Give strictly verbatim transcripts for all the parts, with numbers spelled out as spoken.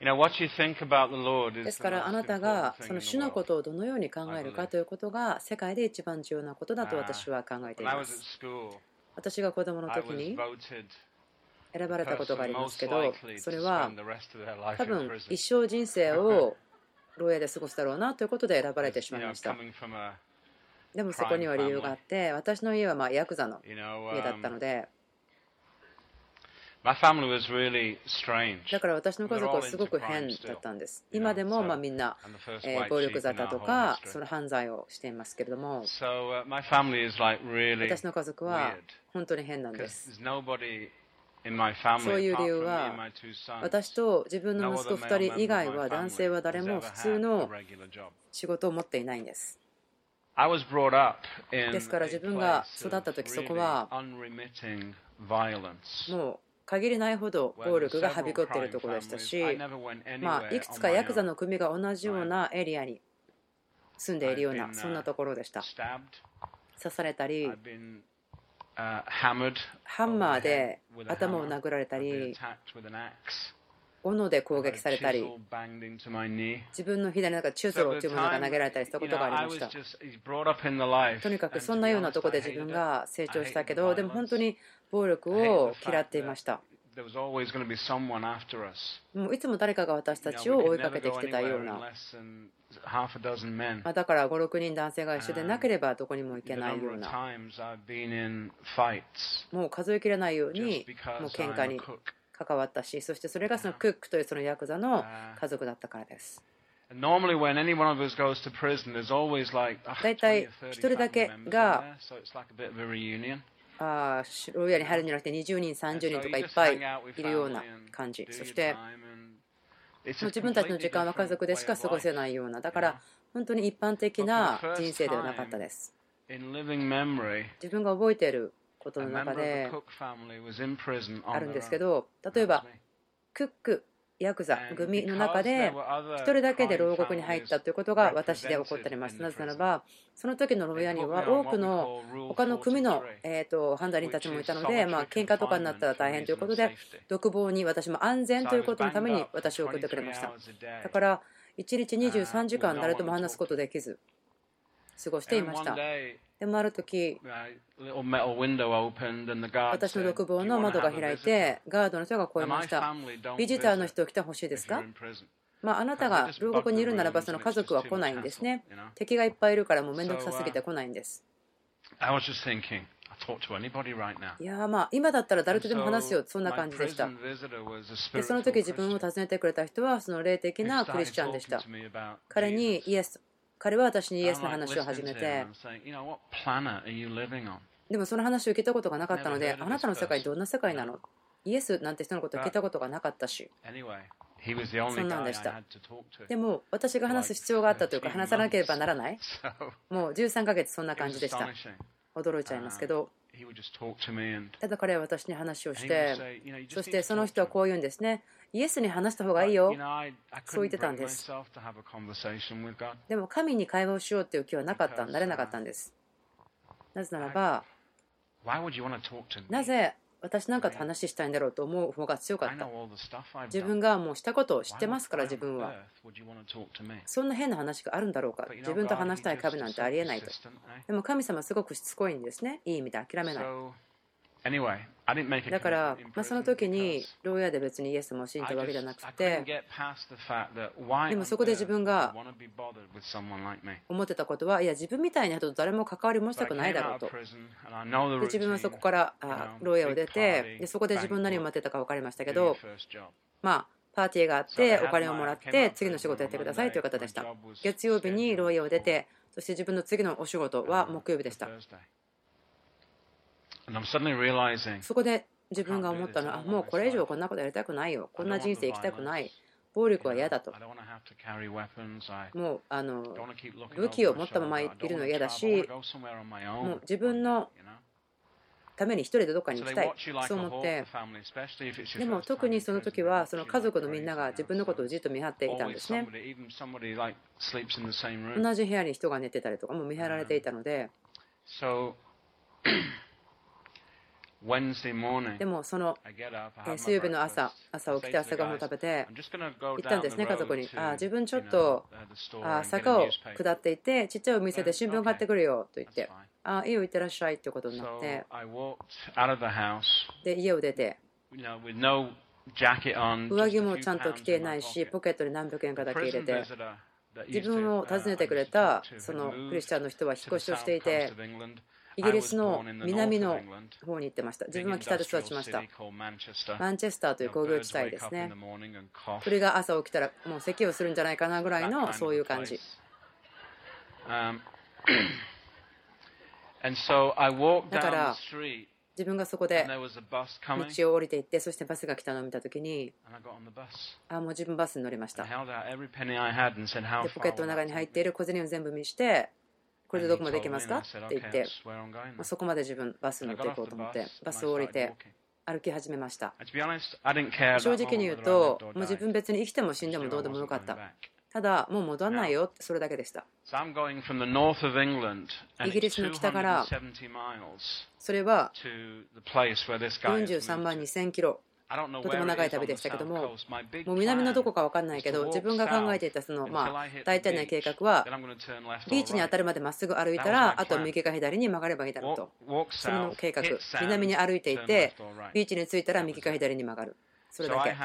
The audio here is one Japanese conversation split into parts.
ですからあなたがその主のことをどのように考えるかということが世界で一番重要なことだと私は考えています。私が子供の時に選ばれたことがありますけど、それは多分一生人生を牢屋で過ごすだろうなということで選ばれてしまいました。でもそこには理由があって、私の家はまあヤクザの家だったので、だから私の家族はすごく変だったんです。今でもまあみんな暴力沙汰とかその犯罪をしていますけれども、私の家族は本当に変なんです。そういう理由は、私と自分の息子ふたり以外は男性は誰も普通の仕事を持っていないんです。ですから自分が育った時、そこはもう限りないほど暴力がはびこっているところでしたし、まあ、いくつかヤクザの組が同じようなエリアに住んでいるようなそんなところでした。刺されたり、ハンマーで頭を殴られたり、斧で攻撃されたり、自分の左の中チュートロというものが投げられたりしたことがありました。とにかくそんなようなところで自分が成長したけど、でも本当に暴力を嫌っていました。もういつも誰かが私たちを追いかけてきてたような、だからご、ろくにん男性が一緒でなければどこにも行けないような、もう数えきれないようにもう喧嘩に関わったし、そしてそれがそのクックというそのヤクザの家族だったからです。大体一人だけがあ牢屋に入るんじゃなくてにじゅうにんさんじゅうにんとかいっぱいいるような感じ。そしてもう自分たちの時間は家族でしか過ごせないような、だから本当に一般的な人生ではなかったです。自分が覚えていることの中であるんですけど、例えばクックヤクザ組の中でひとりだけで牢獄に入ったということが私で起こっております。なぜならばその時の牢屋には多くの他の組のえと犯罪人たちもいたので、まあ喧嘩とかになったら大変ということで、独房に私も安全ということのために私を送ってくれました。だからいちにちにじゅうさんじかん誰とも話すことできず過ごしていました。でもある時、私の独房の窓が開いてガードの人が声ました。ビジターの人来てほしいですか？まあ、あなたが牢獄にいるならばその家族は来ないんですね。敵がいっぱいいるからもう面倒くさすぎて来ないんです。いやまあ今だったら誰とでも話すよ、そんな感じでした。でその時自分を訪ねてくれた人はその霊的なクリスチャンでした。彼にイエス彼は私にイエスの話を始めて、でもその話を聞いたことがなかったので、あなたの世界どんな世界なの？イエスなんて人のことを聞いたことがなかったし、そんなんでした。でも私が話す必要があったというか、話さなければならない、もうじゅうさんかげつそんな感じでした。驚いちゃいますけど、ただ彼は私に話をして、そしてその人はこう言うんですね。イエスに話した方がいいよ、そう言ってたんです。でも神に会話をしようという気はなかった、なれなかったんです。なぜならば、なぜ私なんかと話したいんだろうと思う方が強かった。自分がもうしたことを知ってますから、自分はそんな変な話があるんだろうか、自分と話したい壁なんてありえないと。でも神様はすごくしつこいんですね。いい意味で諦めない。だから、まあ、その時に牢屋で別にイエスも信じたわけじゃなくて、でもそこで自分が思ってたことは、いや自分みたいな人と誰も関わりもしたくないだろうと。で自分はそこから牢屋を出て、でそこで自分何を待ってたか分かりましたけど、まあパーティーがあってお金をもらって次の仕事やってくださいという方でした。月曜日に牢屋を出て、そして自分の次のお仕事は木曜日でした。そこで自分が思ったのは、もうこれ以上こんなことやりたくないよ、こんな人生生きたくない、暴力は嫌だと。もうあの武器を持ったままいるのは嫌だし、もう自分のために一人でどっかに行きたい、そう思って。でも特にその時はその家族のみんなが自分のことをじっと見張っていたんですね。同じ部屋に人が寝てたりとかも見張られていたので、 でもその水曜日の朝、朝起きて朝ごはんを食べて行ったんですね、家族に。あ自分ちょっとあ坂を下っていて、ちっちゃいお店で新聞買ってくるよと言って、あいいよ、行ってらっしゃいということになって、で家を出て、上着もちゃんと着ていないし、ポケットに何百円かだけ入れて、自分を訪ねてくれたそのクリスチャンの人は引っ越しをしていて、イギリスの南の方に行ってました。自分は北で育ちました。マンチェスターという工業地帯ですね。鳥が朝起きたらもう咳をするんじゃないかなぐらいのそういう感じ。だから自分がそこで道を降りていって、そしてバスが来たのを見たときに、あもう自分バスに乗りました。でポケットの中に入っている小銭を全部見して、これでどこまで行けますかって言って、そこまで自分バスに乗っていこうと思ってバスを降りて歩き始めました。正直に言うと、もう自分別に生きても死んでもどうでもよかった。ただもう戻らないよってそれだけでした。イギリスの北からそれはよんじゅうさんまんにせんキロ、とても長い旅でしたけども、もう南のどこか分かんないけど、自分が考えていたそのまあ大体の計画は、ビーチに当たるまでまっすぐ歩いたら、あとは右か左に曲がればいいだろうと。その計画、南に歩いていて、ビーチに着いたら右か左に曲がる。それだけ。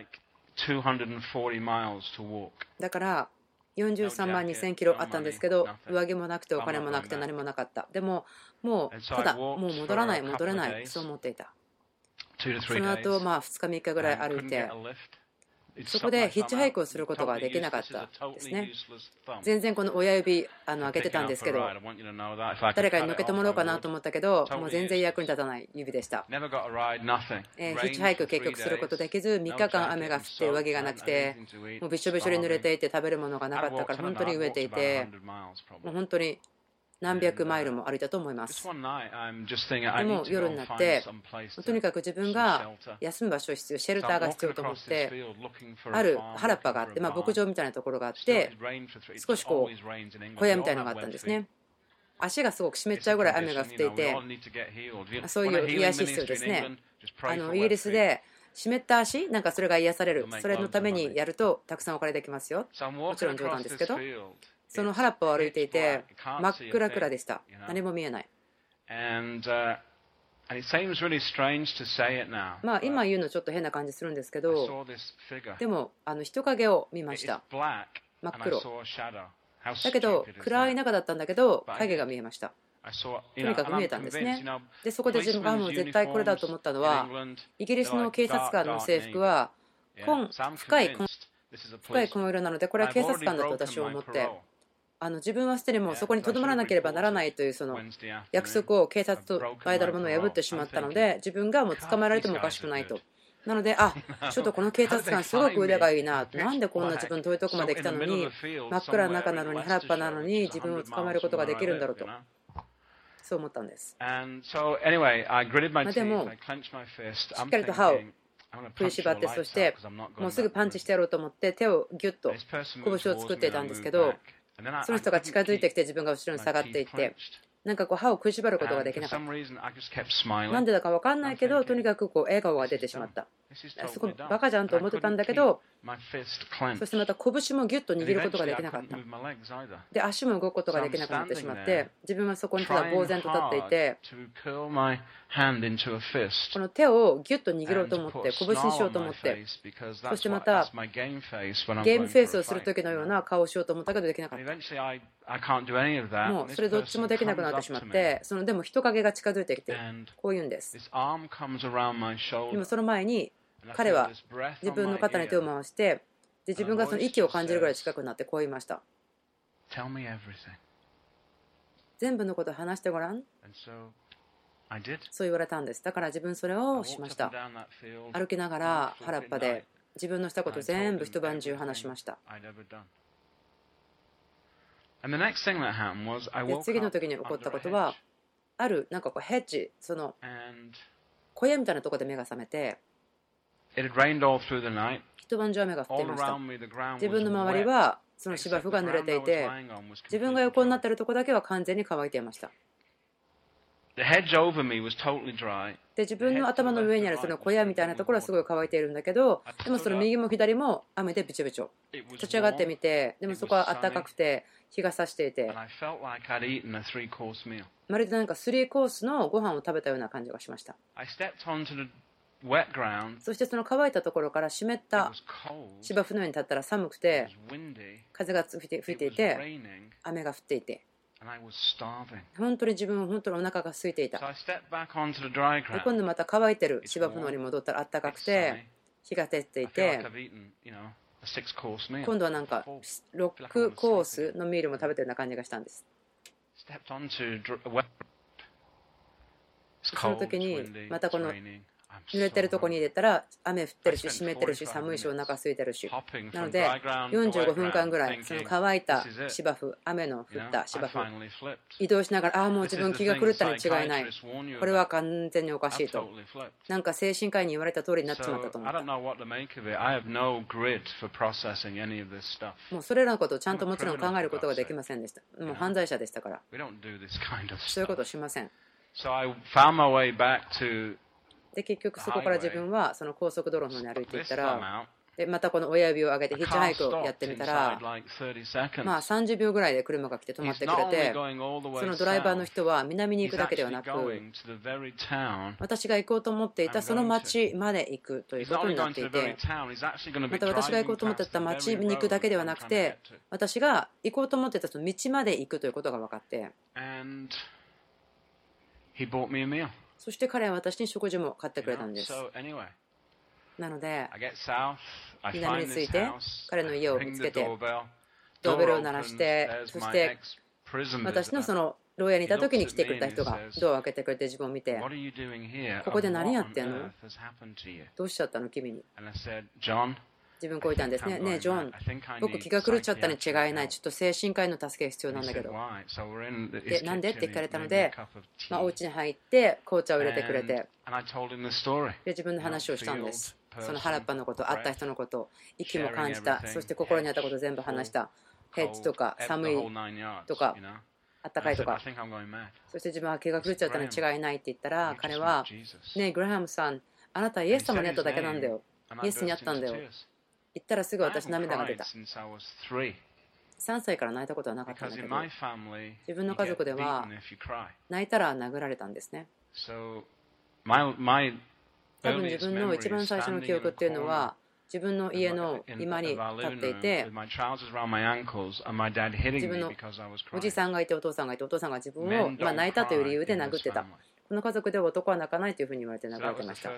だからよんじゅうさんまんにせんキロあったんですけど、上着もなくてお金もなくて何もなかった。でももうただもう戻らない戻れないそう思っていた。その後まあふつかみっかぐらい歩いて、そこでヒッチハイクをすることができなかったですね。全然この親指あの開けてたんですけど、誰かに乗っけてもらおうかなと思ったけど、もう全然役に立たない指でした。えー、ヒッチハイク結局することできず、みっかかん雨が降って上着がなくて、もうびしょびしょに濡れていて食べるものがなかったから本当に飢えていて、もう本当に何百マイルも歩いたと思います。でも夜になって、とにかく自分が休む場所必要、シェルターが必要と思って、ある原っぱがあって、まあ、牧場みたいなところがあって、少しこう小屋みたいなのがあったんですね。足がすごく湿っちゃうぐらい雨が降っていて、そういう癒し必要ですね。あのイギリスで湿った足、なんかそれが癒される、それのためにやるとたくさんお金できますよ。もちろん冗談ですけど。その原っぱを歩いていて真っ暗暗でした。何も見えない。まあ今言うのちょっと変な感じするんですけど、でもあの人影を見ました。真っ黒だけど暗い中だったんだけど影が見えました。とにかく見えたんですね。でそこで自分がもう絶対これだと思ったのは、イギリスの警察官の制服は紺深い紺深い紺色なので、これは警察官だと私は思って、あの自分はすでにもうそこにとどまらなければならないというその約束を警察と間のものを破ってしまったので、自分がもう捕まえられてもおかしくないと。なので、あちょっとこの警察官すごく腕がいいな、なんでこんな自分遠いとこまで来たのに、真っ暗な中なのに原っぱなのに自分を捕まえることができるんだろうと、そう思ったんです。まあ、でもしっかりと歯を振り縛って、そしてもうすぐパンチしてやろうと思って手をギュッと拳を作っていたんですけど、その人が近づいてきて自分が後ろに下がっていって、なんかこう歯を食いしばることができなかった。なんでだか分かんないけど、とにかくこう笑顔が出てしまった。すごいバカじゃんと思ってたんだけど、そしてまた拳もギュッと握ることができなかった。で足も動くことができなくなってしまって、自分はそこにただ呆然と立っていて、この手をギュッと握ろうと思って、拳にしようと思って、そしてまたゲームフェイスをする時のような顔をしようと思ったけどできなかった。もうそれどっちもできなくなってしまって、そのでも人影が近づいてきてこう言うんです。でもその前に彼は自分の肩に手を回して、で自分がその息を感じるぐらい近くなってこう言いました。全部のことを話してごらん。そう言われたんです。だから自分それをしました。歩きながら原っぱで自分のしたこと全部一晩中話しました。で次の時に起こったことは、あるなんかこうヘッジ、その小屋みたいなところで目が覚めて、一晩中雨が降っていました。自分の周りはその芝生が濡れていて、自分が横になっているところだけは完全に乾いていました。 で自分の頭の上にあるその小屋みたいなところはすごい乾いているんだけど、でもその右も左も雨でびちょびちょ。立ち上がってみて、でもそこは暖かくて日が差していて、まるでなんかスリーコースのご飯を食べたような感じがしました。そしてその乾いたところから湿った芝生の上に立ったら寒くて、風が吹いて吹いていて、雨が降っていて、本当に自分は本当にお腹が空いていた。で今度また乾いてる芝生の方に戻ったら暖かくて日が照っていて、今度はなんかろくコースのミールも食べてるような感じがしたんです。その時にまたこの濡れてるとこに入れたら雨降ってるし湿ってるし寒いしお腹空いてるし、なのでよんじゅうごふんかんぐらいその乾いた芝生、雨の降った芝生移動しながら、ああもう自分気が狂ったに違いない、これは完全におかしいと、なんか精神科医に言われた通りになっちまったと思った。もうそれらのことをちゃんともちろん考えることができませんでした。もう犯罪者でしたから、そういうことをしません。で結局そこから自分はその高速道路の方に歩いていったら、でまたこの親指を上げてヒッチハイクをやってみたら、まあさんじゅうびょうぐらいで車が来て止まってくれて、そのドライバーの人は南に行くだけではなく、私が行こうと思っていたその町まで行くということになっていて、また私が行こうと思っていた町に行くだけではなくて、私が行こうと思っていたその道まで行くということが分かって、そして彼は私に食事も買ってくれたんです。なので南に着いて彼の家を見つけてドーベルを鳴らして、そして私のその牢屋にいた時に来てくれた人がドアを開けてくれて自分を見て、ここで何やってんの、どうしちゃったの君に。自分こう言ったんですね。ねえジョン、僕気が狂っちゃったに違いない、ちょっと精神科医の助けが必要なんだけど。でなんでって聞かれたので、まあ、お家に入って紅茶を入れてくれて、で自分の話をしたんです。その原っぱのこと、会った人のこと、息も感じた、そして心にあったことを全部話した。ヘッジとか寒いとかあったかいとか、そして自分は気が狂っちゃったに違いないって言ったら、彼はねえグラハムさん、あなたはイエス様に会っただけなんだよ、イエスに会ったんだよ、言ったらすぐ私涙が出た。さんさいから泣いたことはなかったんだけど、自分の家族では泣いたら殴られたんですね。多分自分の一番最初の記憶っていうのは、自分の家の居間に立っていて、自分のおじさんがいてお父さんがいて、お父さんが自分をまあ泣いたという理由で殴ってた。この家族では男は泣かないというふうに言われて殴られてました。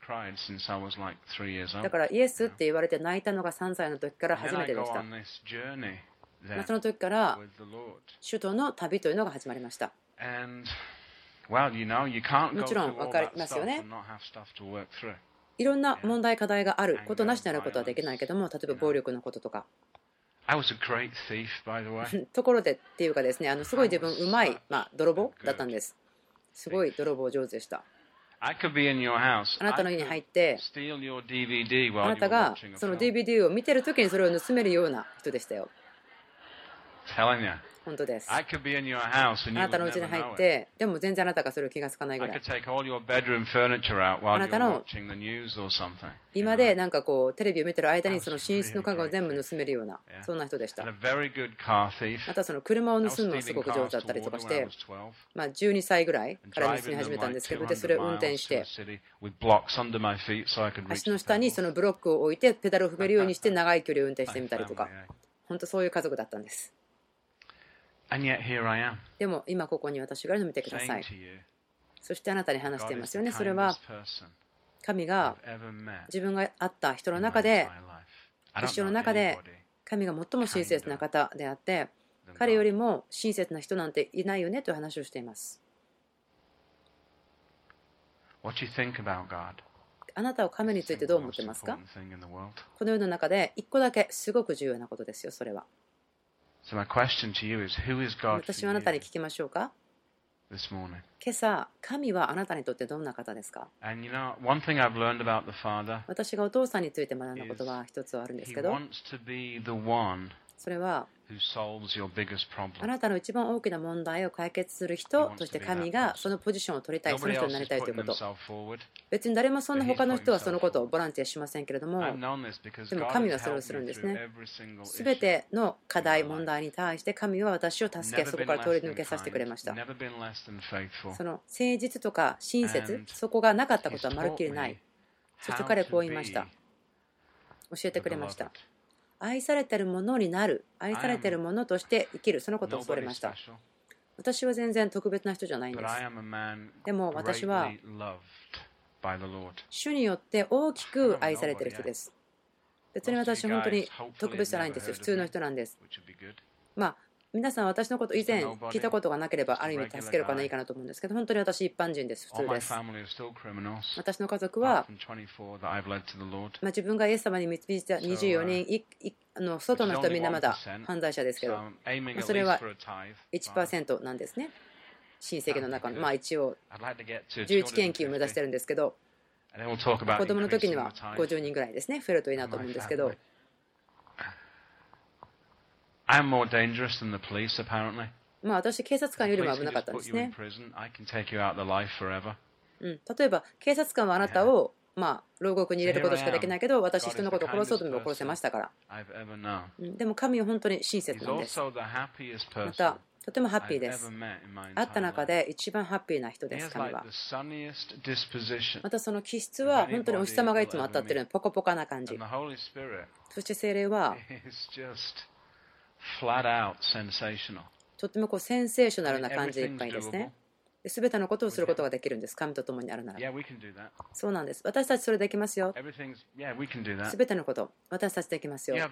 だからイエスって言われて泣いたのがさんさいの時から初めてでした。まあその時から主との旅というのが始まりました。もちろん分かりますよね。いろんな問題課題があることなしになることはできないけども、例えば暴力のこととか。ところでっていうかですね、あのすごい自分うまい、まあ、泥棒だったんです。すごい泥棒上手でした。あなたの家に入ってあなたがその ディーブイディー を見てる時にそれを盗めるような人でしたよ。本当です。あなたの家に入って、でも全然あなたがそれを気がつかないぐらい。あなたの今でなんかこうテレビを見てる間にその寝室の家具を全部盗めるような、そんな人でした。またその車を盗むのがすごく上手だったりとかして、まあじゅうにさいぐらいから盗み始めたんですけど、でそれを運転して足の下にそのブロックを置いてペダルを踏めるようにして長い距離を運転してみたりとか、本当そういう家族だったんです。でも今ここに私がいるのを見てください。そしてあなたに話していますよね。それは神が自分が会った人の中で、一生の中で神が最も親切な方であって、彼よりも親切な人なんていないよねという話をしています。あなたは神についてどう思ってますか？この世の中で一個だけすごく重要なことですよ、それは。私はあなたに聞きましょうか。今朝、神はあなたにとってどんな方ですか？私がお父さんについて学んだことは一つはあるんですけど、 それはあなたの一番大きな問題を解決する人として神がそのポジションを取りたい、その人になりたいということ。別に誰もそんな他の人はそのことをボランティアしませんけれども、でも神はそれをするんですね。すべての課題、問題に対して神は私を助け、そこから通り抜けさせてくれました。その誠実とか親切、そこがなかったことはまるっきりない。そして彼はこう言いました。教えてくれました。愛されているものになる、愛されているものとして生きる、そのことを教わりました。私は全然特別な人じゃないんです。でも私は主によって大きく愛されている人です。別に私は本当に特別じゃないんですよ。普通の人なんです。まあ皆さん私のこと以前聞いたことがなければある意味助けるかないいかなと思うんですけど、本当に私一般人です。普通です。私の家族は、まあ、自分がイエス様に導いたにじゅうよにんいいあの外の人はみんなまだ犯罪者ですけど、まあ、それはいちパーセントなんですね。親戚の中の、まあ、一応じゅういち献金を目指してるんですけど、子供の時にはごじゅうにんぐらいですね、増えるといいなと思うんですけど。まあ私、警察官よりも危なかったんですね。うん、例えば、警察官はあなたを、まあ、牢獄に入れることしかできないけど、私、人のことを殺そうとも殺せましたから。うん、でも神は本当に親切なんです。また、とてもハッピーです。会った中で一番ハッピーな人です、神は。またその気質は本当にお日様がいつも当たっているので、ポカポカな感じ。そして聖霊は、とてもこうセンセーショナルな感じでいっぱいですね。すべてのことをすることができるんです。神と共にあるなら。そうなんです。私たちそれできますよ。すべてのこと、私たちできますよ。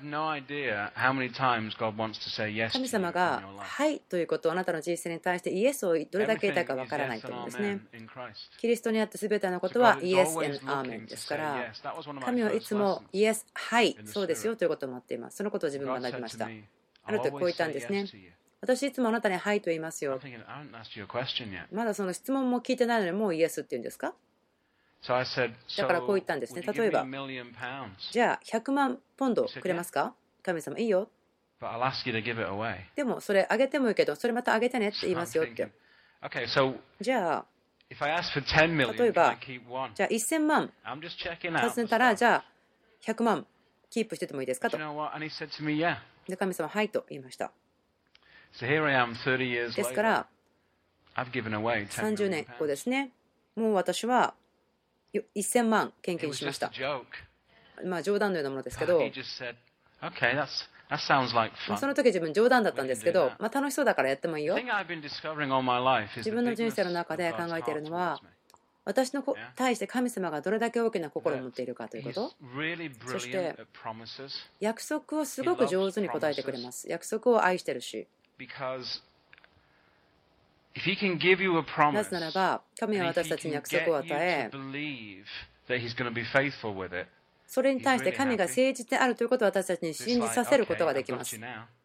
神様が、はいということをあなたの人生に対してイエスをどれだけ言いたいかわからないと思うんですね。キリストにあってすべてのことはイエス・アーメンですから、神はいつもイエス、はい、そうですよということを待っています。そのことを自分が学びました。ある時こう言ったんですね。私いつもあなたにはいと言いますよ。まだその質問も聞いてないのにもうイエスって言うんですか？だからこう言ったんですね。例えば、じゃあひゃくまんポンドくれますか？神様いいよ。でもそれあげてもいいけど、それまたあげてねって言いますよって。じゃあ、例えば、じゃあせんまん尋ねたら、じゃあひゃくまんキープしててもいいですかと。で、神様はいと言いました。ですから、さんじゅうねんごですね、もう私はせんまん献金しました。まあ冗談のようなものですけど、その時自分冗談だったんですけど、まあ楽しそうだからやってもいいよ。自分の人生の中で考えているのは、私の対して神様がどれだけ大きな心を持っているかということ。そして、約束をすごく上手に答えてくれます。約束を愛してるし。なぜならば、神は私たちに約束を与え、それに対して神が誠実であるということを私たちに信じさせることができます。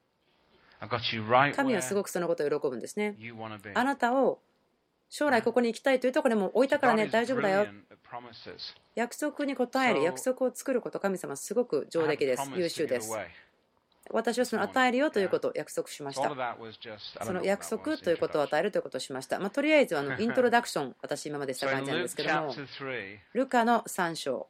神はすごくそのことを喜ぶんですね。あなたを将来ここに行きたいというところにも置いたからね、大丈夫だよ。約束に応える、約束を作ること、神様はすごく上出来です。優秀です。私はその与えるよということを約束しました。その約束ということを与えるということをしました。まあ、とりあえずあのイントロダクション、私今までした感じなんですけども、ルカのさん章、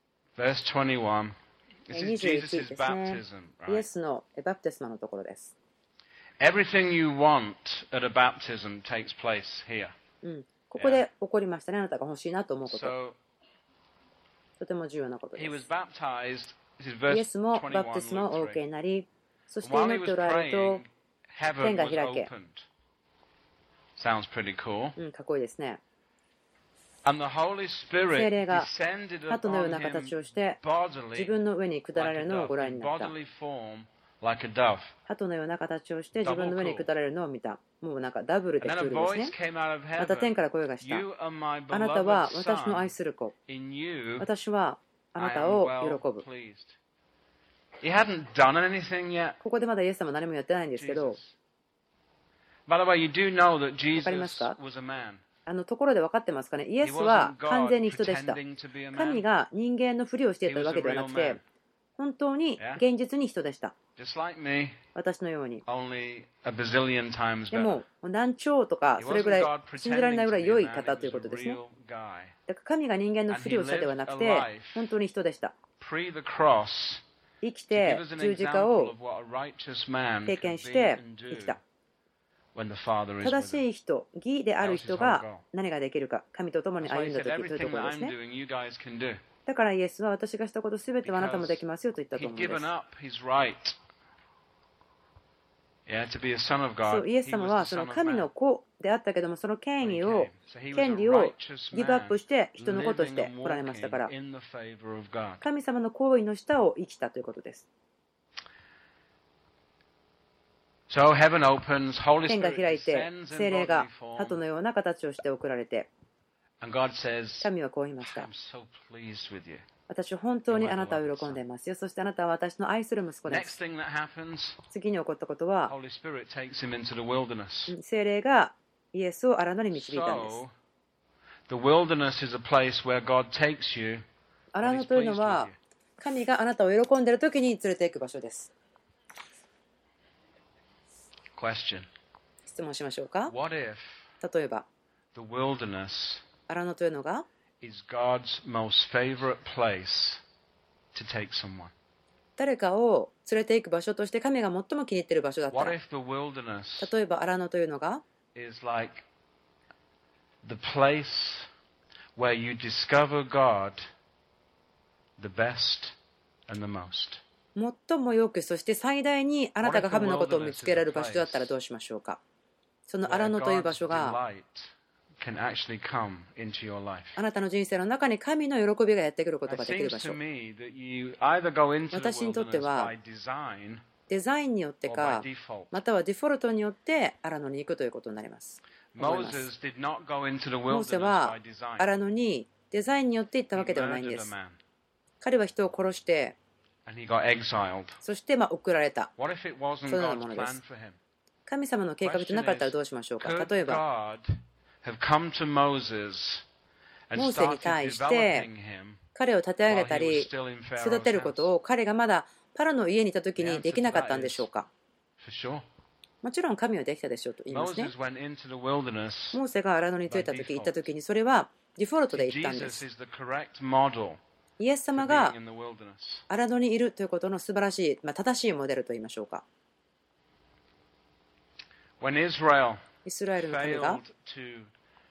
にじゅういちですね。イエスのバプテスマのところです。 Everything you want at a baptism takes place here. うん、ここで起こりましたね。あなたが欲しいなと思うこと。とても重要なことです。イエスもバプテスマをお受けになり、そして祈っておられると天が開け。うん、かっこいいですね。聖霊が鳩のような形をして自分の上に下られるのをご覧になった。鳩のような形をして自分の上に下られるのを見た。もうなんかダブルでクールですね。また天から声がした。あなたは私の愛する子。私はあなたを喜ぶ。ここでまだイエス様は何もやってないんですけど、わかりますか？あのところで分かってますかね。イエスは完全に人でした。神が人間のふりをしていたわけではなくて、 本当に現実に人でした。 Just like me, 私のように。 only a bazillion times で better. も何兆とか He それぐら wasn't い God 信じられない pretending ぐら to い be a 良い man, 方 it という was こ a とですね。 real guy. だから神が人間のふりをしたではなくて本当に人でした。 Pre the cross, 生き to て give us an 十字架 example を of what a righteous man 経 could 験し be て and 生き do た。 when the Father is 正 with し him. い人、義である That was his 人 whole が goal. 何ができるか、神と共に That's why 歩 he んだ said 時というと everything ころ that です I'm ね。 doing, you guys can do. だからイエスは私がしたことすべてはあなたもできますよと言ったと He'd 思うんで given す。 up his right, yeah, to be a son of そ God. うイエス He 様 was は the そ son の of 神 man の子であったけどもその権 when 威 he を came. So he was 権 a 利を righteous ギブアッ man プして人の子とし living て and 来られましたか walking ら in the favor of God. 神様の行為の下を生きたということです。 So heaven opens, Holy 天が Spirit 開いて descends in 聖霊が bodily 鳩 form, のような形をして送られて and God says, 神はこう言いました。 I'm so pleased with you. 私は本当にあなたを喜んでいますよ。そしてあなたは私の愛する息子で Next す。 thing that happens, 次に起こったことは Holy Spirit takes him into the wilderness. 聖霊がイエスを荒野に導いたんです。 So, the wilderness is a place where God takes you 荒 when 野 he's というの pleased with は you. 神があなたを喜んでいる時に連れて行く場所です。 Question. 質問しましょうか。 What if 例えば the wilderness 荒野というのが is God's most favorite place to take someone? 誰かを連れて行く場所として神が最も気に入っている場所だった What ら、 if the wilderness 例えば荒野というのが is like the place where you discover God the best and the most? 最もよくそして最大にあなたが神のことを見つけられる場所だったらどうしましょうか。その荒 Where 野という God's 場所が delight can actually come into your life. あなたの人生の中に神の喜びがやってくること It ができる場 seems 所。 to me that you either go into the 私にとって wilderness は by design デザインによって or か by default. またはデフォルトによって荒野に行くということになります。思います。 Moses did not go into the モーセ wilderness は by design. 荒野にデザインによって行ったわ He けではないん murdered で a す。 man 彼は人を殺して and he got exiled. そしてまあ送られた。 What if it wasn't そのような God's ものです plan for him? 神様の計画でなかったらどうしましょうか。 Could 例えば God have come to Moses and モーセに started 対して developing him 彼を立て上 while げ he た was り still in 育 Pharaoh's てること house? を彼がまだパロの家にいた時にできなかったんでしょうか。 For sure. もちろん神はできたでしょうと言いますね。 Moses went into the wilderness. モーセが荒野に着いた時行った時にそれはデフォルトで行ったんで Jesus す。 is the correct model イエス for 様が being in the wilderness. 荒野にいるということの素晴らしい、まあ、正しいモデルと言いましょうか。 When Israel イスラエルの民が failed to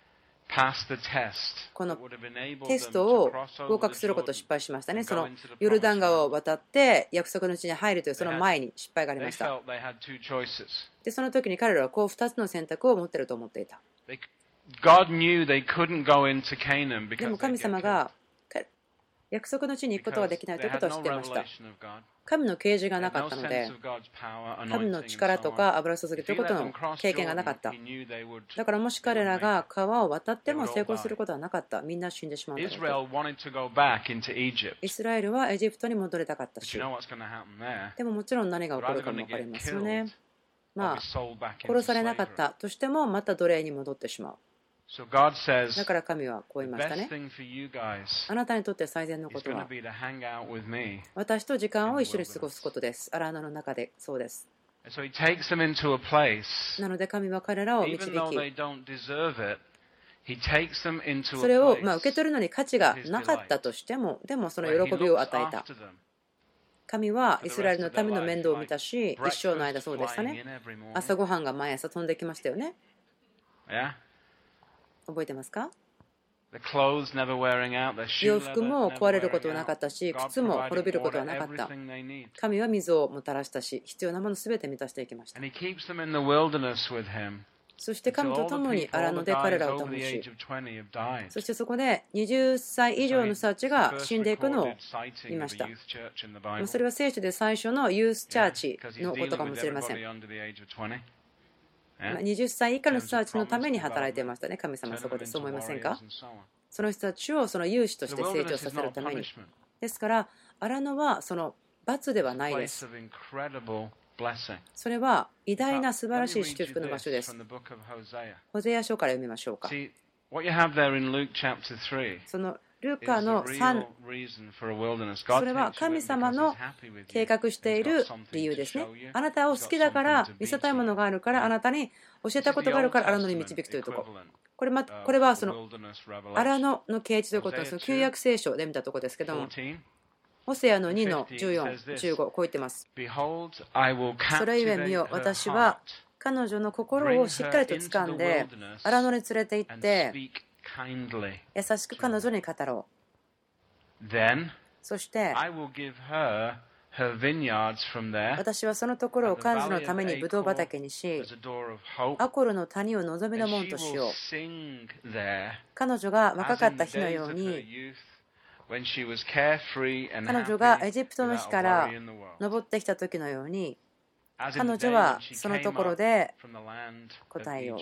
pass the test この that would have enabled テ them スト to を cross 合 over 格 the することを Jordan, 失敗しましたね。その go into the ヨルダン promised 川 land, を渡って約束の地に入るというその前に失敗があり they ました。 felt they had two choices. で、その時に彼らはこうふたつの選択を持っていると思っていた。 They, God knew they couldn't go into Canaan で because も they'd 神 get 様 killed. がか約束の地に行くことが Because できないとい they うこと had を知っ no ていました。 revelation of God. 神の啓示が They な had か no ったの sense で of God's power, 神の anointing, 力 and と so か on. 油注ぎ If とい he うこと let の them cross 経験がなかっ Jordan, た。 he knew they would, だからもし they 彼 would ら make が it. 川を渡っても成功することはなかった。みんな死んでしまうだろうと。 Israel wanted to go back into Egypt. イスラエルはエジプトに戻りたかった But し you know what's going to happen there? でももちろん何が起 They're こる either かも going 分 to かり get ますよ killed ね。 or ま be あ sold back 殺 into されなかっ slavery. たとしてもまた奴隷に戻ってしまう。 So God says, だから神はこう the 言いました best ね。 thing for you guys あなたにとって最善のこ is と going to は be to hang out with me. 私と時間を一緒に過ごすことです。荒野の中でそうです。 And so he takes them into a place, なので神は彼らを導 even though き they don't deserve it, he takes them into そ a れをまあ place 受け取るのに価値がなかったとしてもでもその where he 喜びを looks 与えた。 after them. 神はイスラエルの民の面倒を見たし一生の間 Breakfast そうでした flying ね。 in every morning. 朝ごはんが毎朝飛んできましたよね。 Yeah? 覚えてますか？ The clothes never wearing out, their shoe 洋 leather 服も never 壊れること wearing はなか out. ったし God 靴も滅び providing ることは order なかった everything they need. 神は水をもたらしたし必要なものすべて満たしていきました。 And he keeps them in the wilderness with him そして神 until と all 共 the に people, 荒 all 野 the で彼 guys らを over 保 the し age of twenty have died. そしてそこではたち以上の人たちが First 死んでいくのを recorded sighting 見ま of し a た。 youth church in the Bible. それは聖書で最初のユースチャーチ Because he's のことか dealing も with しれません。 everybody under the age of twenty. まあ Yeah? はたち以下の人たちのために働いていましたね。神様は Turn そこ them でそう into 思いません warriors か？ and so on. その人たちをその勇士とし The て成 wilderness 長 is させる not ために。 punishment. ですから荒野はその罰では It's a ないで place す。 of incredible blessing. それは偉 In 大な fact, 素晴ら let し me い read 祝 you 福の場所で this す from。the book of Hosea. ホゼア書から読みましょうか。 See, what you have there in Luke chapter three そのルカのさん、それは神様の計画している理由ですね。あなたを好きだから、見せたいものがあるから、あなたに教えたことがあるから荒野に導くというところ。これまこれはその荒野の啓示ということのその旧約聖書で見たところですけども、ホセアのにのじゅうよん、じゅうご、こう言ってます。それゆえ見よ、私は彼女の心をしっかりと掴んで、荒野に連れて行って、優しく彼女に語ろう。そして、私はそのところを彼女のためにブドウ畑にし、アコルの谷を望みの門としよう。彼女が若かった日のように、彼女がエジプトの日から登ってきた時のように、彼女はそのところで答えよう。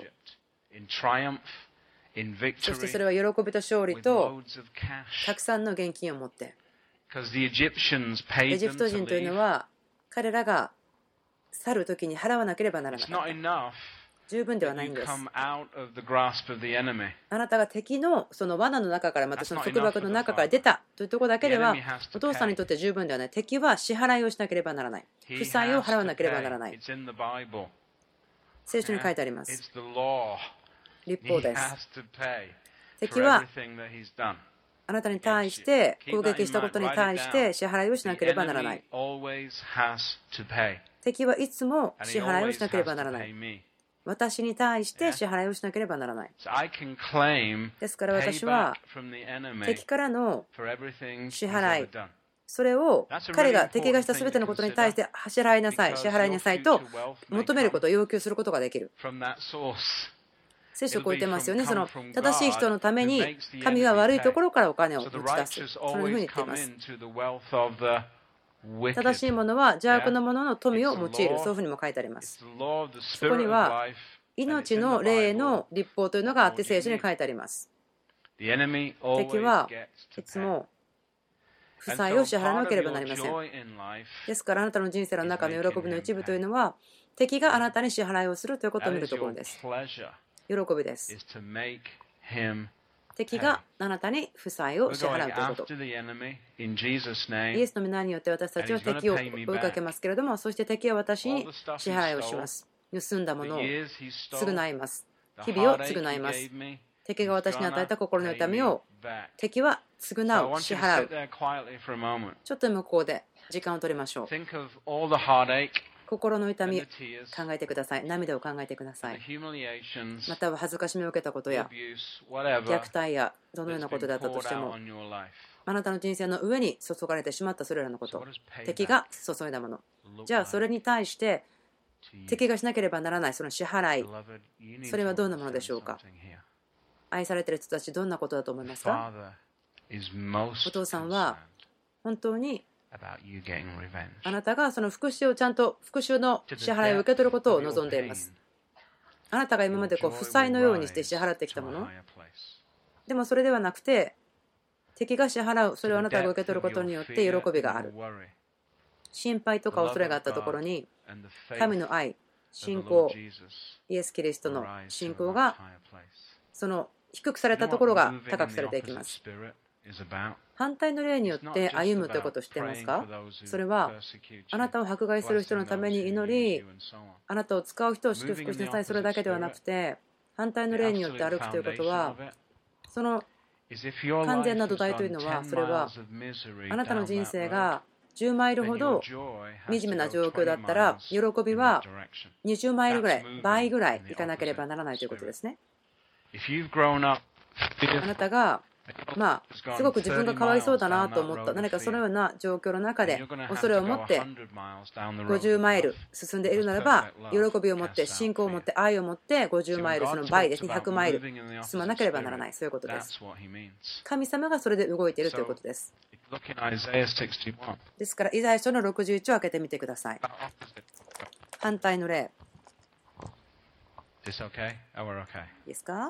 そしてそれは喜びと勝利とたくさんの現金を持って。エジプト人というのは彼らが去る時に払わなければならなかった。十分ではないんです。あなたが敵のその罠の中からまたその束縛の中から出たというところだけではお父さんにとって十分ではない。敵は支払いをしなければならない。負債を払わなければならない。聖書に書いてあります。律法です。敵はあなたに対して攻撃したことに対して支払いをしなければならない。敵はいつも支払いをしなければならない。私に対して支払いをしなければならない。ですから私は敵からの支払い、それを彼が敵がした全てのことに対して支払いなさい、支払いなさいと求めることを要求することができる。聖書をこう言ってますよね。その正しい人のために神は悪いところからお金を持ち出す。そのように言っています。正しいものは邪悪なものの富を用いる。そういうふうにも書いてあります。そこには命の霊の律法というのがあって聖書に書いてあります。敵はいつも負債を支払わなければなりません。ですからあなたの人生の中の喜びの一部というのは敵があなたに支払いをするということを見るところです。喜びです。敵があなたに負債を支払うということ。イエスの皆によって私たちは敵を追いかけますけれども、そして敵は私に支払いをします。盗んだものを償います。日々を償います。敵が私に与えた心の痛みを敵は償う、支払う。ちょっと向こうで時間を取りましょう。心の痛み考えてください。涙を考えてください。または恥ずかしみを受けたことや虐待やどのようなことだったとしても、あなたの人生の上に注がれてしまったそれらのこと、敵が注いだもの、じゃあそれに対して敵がしなければならないその支払い、それはどんなものでしょうか。愛されている人たち、どんなことだと思いますか。お父さんは本当にあなたがその復讐をちゃんと復讐の支払いを受け取ることを望んでいます。あなたが今までこう負債のようにして支払ってきたもの、でもそれではなくて敵が支払う、それをあなたが受け取ることによって喜びがある。心配とか恐れがあったところに神の愛、信仰、イエス・キリストの信仰がその低くされたところが高くされていきます。反対の例によって歩むということを知っていますか。それはあなたを迫害する人のために祈り、あなたを使う人を祝福しなさい、それだけではなくて、反対の例によって歩くということは、その完全な土台というのは、それはあなたの人生がじゅうマイルほど惨めな状況だったら、喜びはにじゅうマイルぐらい、倍ぐらい行かなければならないということですね。あなたがまあすごく自分がかわいそうだなと思った何かそのような状況の中で恐れを持ってごじゅうマイル進んでいるならば、喜びを持って信仰を持って愛を持ってごじゅうマイル、その倍ですね、ひゃくマイル進まなければならない、そういうことです。神様がそれで動いているということです。ですからイザヤ書のろくじゅういちを開けてみてください。反対の例いいですか。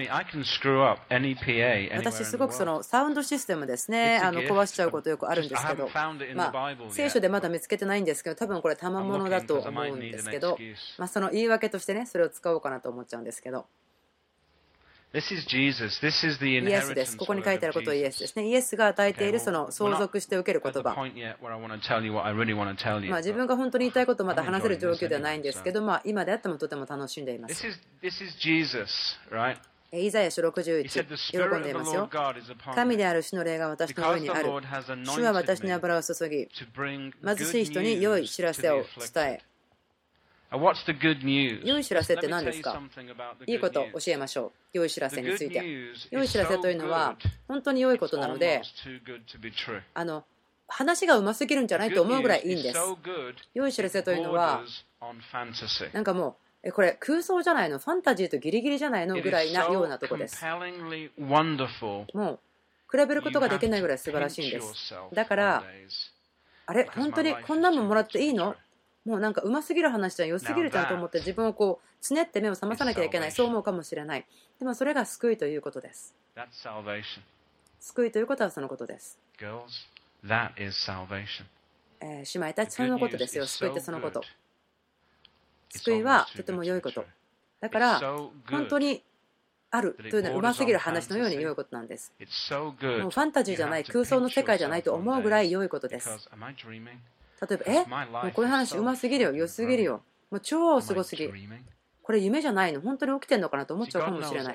私すごくそのサウンドシステムですね、あの壊しちゃうことよくあるんですけど、まあ聖書でまだ見つけてないんですけど、多分これ賜物だと思うんですけど、まあその言い訳としてね、それを使おうかなと思っちゃうんですけど、 This is Jesus. This is the イエスです。 inheritance ここに書いてある word こと of はイエスで Jesus. すね。イエスが与えてい Okay, る well, その we're 相 not 続して受ける at 言 the 葉。 point yet where I want to tell you what I really want to tell you. まあ自 but 分が本当に言いたいことをまだ I'm 話せる enjoying 状 this 況ではないん anyway, です so. けど、まあ今であってもとても楽しんでいま This す。 is, this is Jesus, right? イザヤ書ろくじゅうい He ち、 said, The 喜 Spirit ん of でい the ますよ。 Lord God is upon 神 me, である主の霊が私の上 because に the ある。 Lord has 主は anointed 私に me 油を注ぎ、 to bring 貧 good しい人に良い news 知ら to せ the を伝 afflicted. え。 And what's the good news? 良い知らせっ Let て me 何 tell です you か？ something about the いいこ good と news. を教えましょう。良い知ら The せに good ついて。 news 良い is 知らせ so というのは good, 本当に良いことなので、 almost too good to be true. あの話がうますぎるんじゃない The と good 思うぐら news いいいん is です。 so good, 良い知らせというのは borders on fantasy. なんかもうえこれ空想じゃないの、ファンタジーとギリギリじゃないの It ぐ is らいなよう so なとこです。 compellingly wonderful. もう比べること You がで have きない to ぐらい素晴ら pinch しいんです。 yourself だか on ら days. あれ Because 本当 my に life こんな is もん too もら good って to いい be の true. もうなんかうますぎる話じゃん、良すぎるじゃんと思って自分をこうつねって目を覚まさなきゃいけない、そう思うかもしれない。でもそれが救いということです。 That's salvation. 救いということはそのことです。 Girls, that is salvation. えー姉妹たち The そ good のこと news ですよ。 is 救いって so そのこ good. と。 It's 救いは almost と too ても good 良 to い be こ true. と。だか It's ら so 本当 good にあるというのはうますぎる話のように良いことなんです。 It's so も good. うファンタジーじゃない、空想の世界じゃないと思うぐらい良いことです。 Because am I dreaming? 例えば、えもうこういう話うますぎるよ、良すぎるよ、もう超すごすぎ、これ夢じゃないの、本当に起きてんのかなと思っちゃうかもしれない。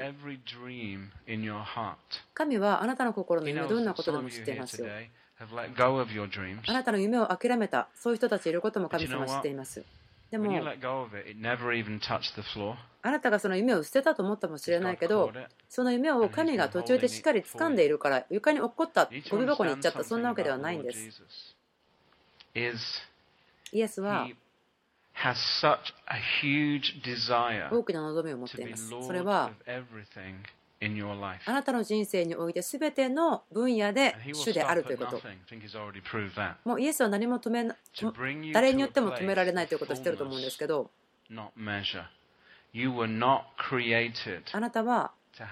神はあなたの心の夢どんなことでも知っていますよ。あなたの夢を諦めたそういう人たちいることも神様は知っています。でもあなたがその夢を捨てたと思ったかもしれないけど、その夢を神が途中でしっかり掴んでいるから床に落っこったゴミ箱に行っちゃった、そんなわけではないんです。イエスは大きな望みを持っています。それはあなたの人生において全ての分野で主であるということ。もうイエスは何も止め誰によっても止められないということを知っていると思うんですけど、あなたは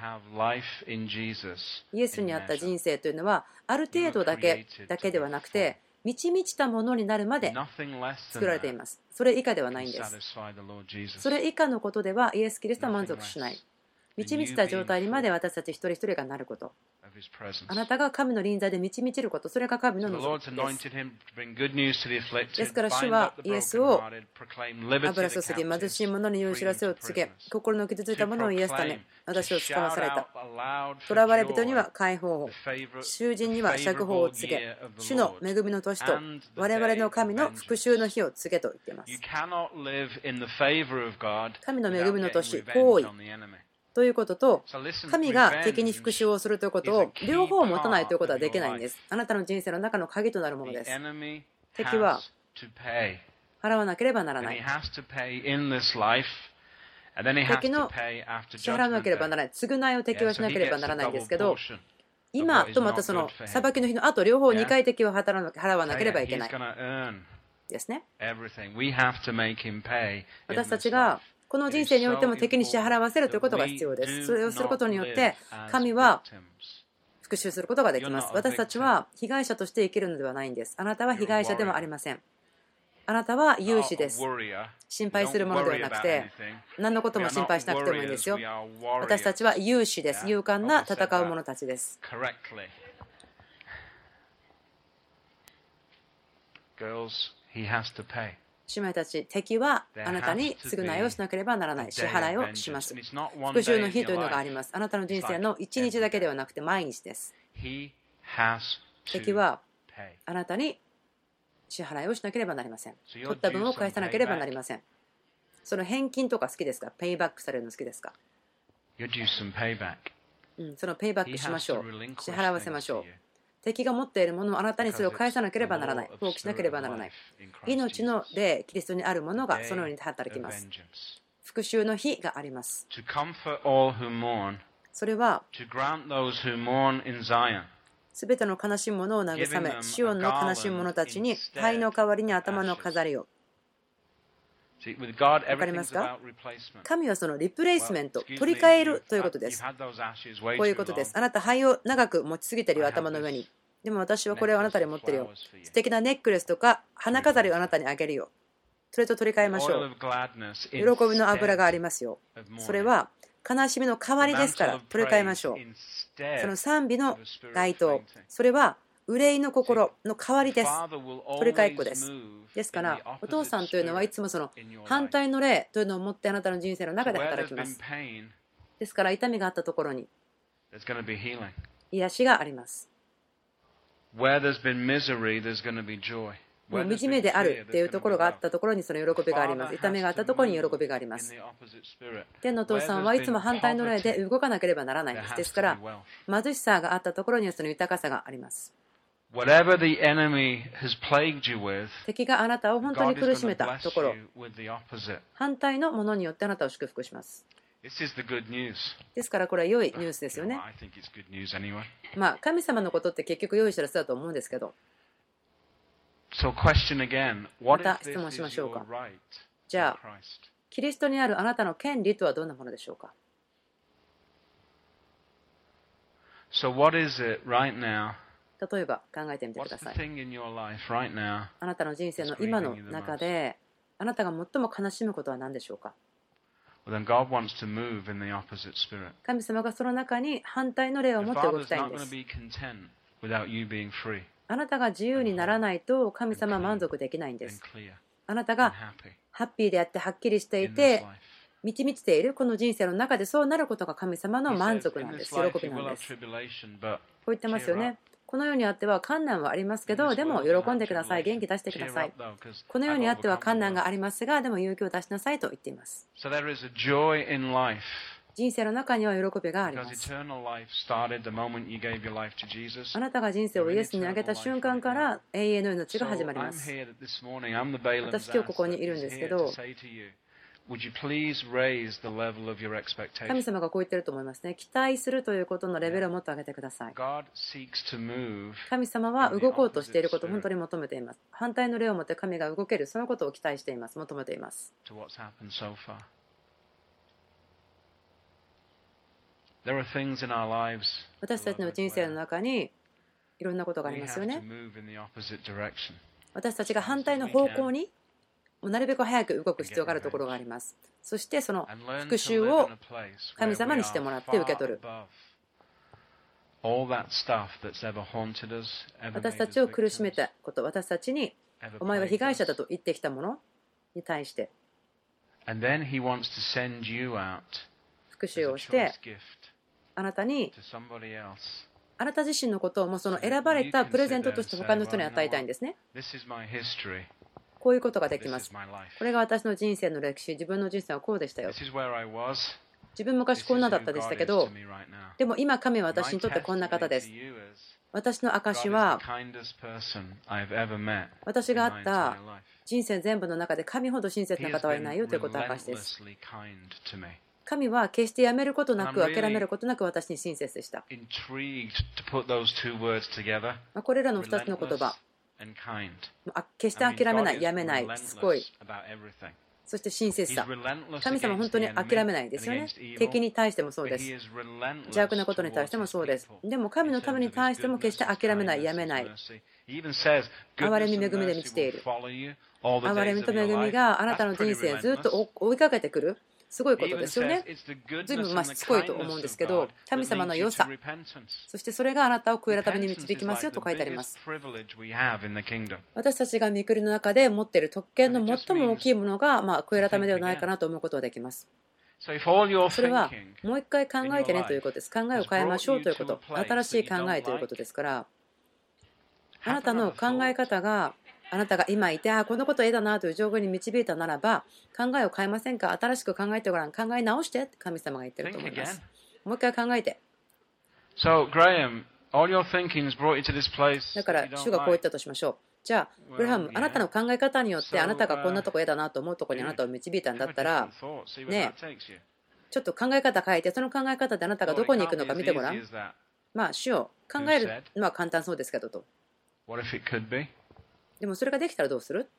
イエスにあった人生というのはある程度だけだけではなくて満ち満ちたものになるまで作られています。それ以下ではないんです。それ以下のことではイエス・キリストは満足しない。満ち満ちた状態にまで私たち一人一人がなること。あなたが神の臨在で満ち満ちること、それが神の望みです。ですから主はイエスを油注ぎ、貧しい者に良い知らせを告げ、心の傷ついた者を癒すため、私を使わされた。囚われ人には解放を、囚人には釈放を告げ、主の恵みの年と我々の神の復讐の日を告げと言っています。神の恵みの年、行為ということと、神が敵に復讐をするということを両方持たないということはできないんです。あなたの人生の中の鍵となるものです。敵は払わなければならない。敵の支払わなければならない。償いを敵はしなければならないんですけど、今とまたその裁きの日の後、両方にかい敵を払わなければいけないですね。私たちがこの人生においても敵に支払わせるということが必要です。それをすることによって神は復讐することができます。私たちは被害者として生きるのではないんです。あなたは被害者ではありません。あなたは勇士です。心配するものではなくて、何のことも心配しなくてもいいんですよ。私たちは勇士です。勇敢な戦う者たちです。姉妹たち、敵はあなたに償いをしなければならない。支払いをします。復讐の日というのがあります。あなたの人生の一日だけではなくて毎日です。敵はあなたに支払いをしなければなりません。取った分を返さなければなりません。その返金とか好きですか？ペイバックされるの好きですか？うん、そのペイバックしましょう。支払わせましょう。敵が持っているものをあなたにそれを返さなければならない。放棄しなければならない。命の霊、キリストにあるものがそのように働きます。復讐の日があります。それはすべての悲しむ者を慰め、シオンの悲しむ者たちに灰の代わりに頭の飾りを。わかりますか？神はそのリプレイスメント、取り替えるということです。こういうことです。あなた灰を長く持ちすぎてるよ、頭の上に。でも私はこれをあなたに持ってるよ。素敵なネックレスとか花飾りをあなたにあげるよ。それと取り替えましょう。喜びの油がありますよ。それは悲しみの代わりですから取り替えましょう。その賛美の街灯、それは憂いの心の代わりです。取り替えっこです。ですからお父さんというのはいつもその反対の霊というのを持ってあなたの人生の中で働きます。ですから痛みがあったところに癒しがあります。もう惨めであるというところがあったところにその喜びがあります。痛みがあったところに喜びがあります。天のお父さんはいつも反対の霊で動かなければならないんです。ですから貧しさがあったところにはその豊かさがあります。敵があなたを本当に苦しめたところ、反対のものによってあなたを祝福します。ですからこれは良いニュースですよね。まあ神様のことって結局良い知らせだと思うんですけど。また質問しましょうか。じゃあキリストにあるあなたの権利とはどんなものでしょうか。例えば考えてみてください。あなたの人生の今の中であなたが最も悲しむことは何でしょうか。神様がその中に反対の霊を持って動きたいんです。あなたが自由にならないと神様は満足できないんです。あなたがハッピーであってはっきりしていて満ち満ちているこの人生の中でそうなることが神様の満足なんです。喜びなんです。こう言ってますよね。この世にあっては困難はありますけど、でも喜んでください。元気出してください。この世にあっては困難がありますが、でも勇気を出しなさいと言っています。人生の中には喜びがあります。あなたが人生をイエスにあげた瞬間から永遠の命が始まります。私今日ここにいるんですけど、神様がこう言ってると思いますね。期待するということのレベルをもっと上げてください。神様は動こうとしていることを本当に求めています。反対の霊を持って神が動ける、そのことを期待しています。求めています。私たちの人生の中にいろんなことがありますよね。私たちが反対の方向になるべく早く動く必要があるところがあります。そしてその復讐を神様にしてもらって受け取る。私たちを苦しめたこと、私たちにお前は被害者だと言ってきたものに対して復讐をしてあなたにあなた自身のことをもうその選ばれたプレゼントとして他の人に与えたいんですね。こういうことができます。これが私の人生の歴史、自分の人生はこうでしたよ。自分昔こんなだったでしたけど、でも今神は私にとってこんな方です。私の証は私があった人生全部の中で神ほど親切な方はいないよということの証です。神は決してやめることなく諦めることなく私に親切でした。これらのふたつの言葉、決して諦めない、やめない、しつこい、そして親切さ。神様は本当に諦めないですよね。敵に対してもそうです。邪悪なことに対してもそうです。でも神のために対しても決して諦めない、やめない。憐れみ恵みで満ちている。憐れみと恵みがあなたの人生をずっと追いかけてくる。すごいことですよね。ずいぶんまあしつこいと思うんですけど、神様の良さ、そしてそれがあなたを悔い改めに導きますよと書いてあります。私たちが御国の中で持っている特権の最も大きいものが、まあ、悔い改めではないかなと思うことができます。それはもう一回考えてねということです。考えを変えましょうということ、新しい考えということですから、あなたの考え方があなたが今いて、あこのこと嫌だなという状況に導いたならば、考えを変えませんか。新しく考えてごらん、考え直してって神様が言ってると思います。もう一回考えて。だから主がこう言ったとしましょう。じゃあグラハム、あなたの考え方によってあなたがこんなとこ嫌だなと思うところにあなたを導いたんだったらね、ちょっと考え方変えて、その考え方であなたがどこに行くのか見てごらん。まあ主を考えるのは簡単そうですけどと。でもそれができたらどうする？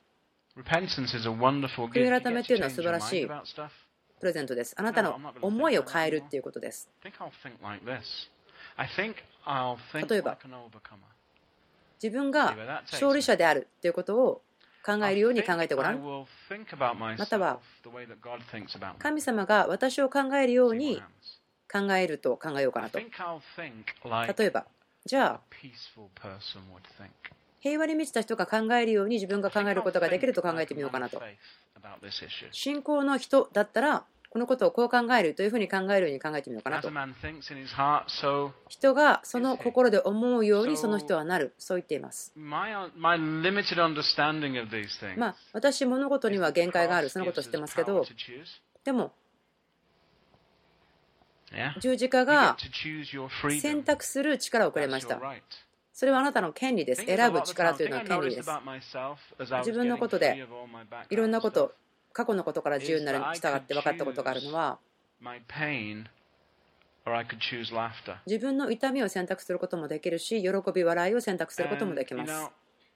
悔い改めというのは素晴らしいプレゼントです。あなたの思いを変えるということです。例えば自分が勝利者であるということを考えるように考えてごらん。または神様が私を考えるように考えると考えようかなと。例えば、じゃあ平和に満ちた人が考えるように自分が考えることができると考えてみようかなと。信仰の人だったらこのことをこう考えるというふうに考えるように考えてみようかなと。人がその心で思うようにその人はなる、そう言っています。まあ私物事には限界がある、そのことを知ってますけど、でも十字架が選択する力をくれました。それはあなたの権利です。選ぶ力というのは権利です。自分のことでいろんなこと、過去のことから自由になるに従って分かったことがあるのは、自分の痛みを選択することもできるし、喜び、笑いを選択することもできます。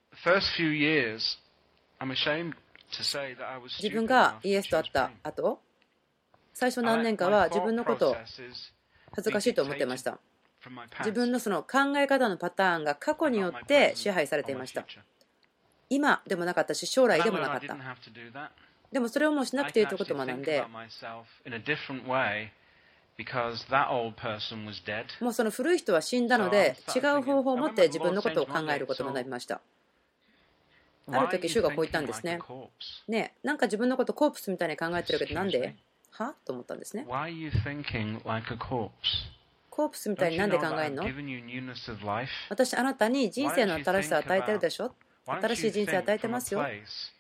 自分がイエスと会った後、最初何年かは自分のことを恥ずかしいと思っていました。自分のその考え方のパターンが過去によって支配されていました。今でもなかったし、将来でもなかった。でもそれをもうしなくていいということを学んで、もうその古い人は死んだので、違う方法を持って自分のことを考えることになりました。ある時、主がこう言ったんですね。ねえ、なんか自分のことコープスみたいに考えてるけど、なんではと思ったんですね。コープスみたいになんで考えるの？私、あなたに人生の新しさを与えてるでしょ。新しい人生を与えてますよ。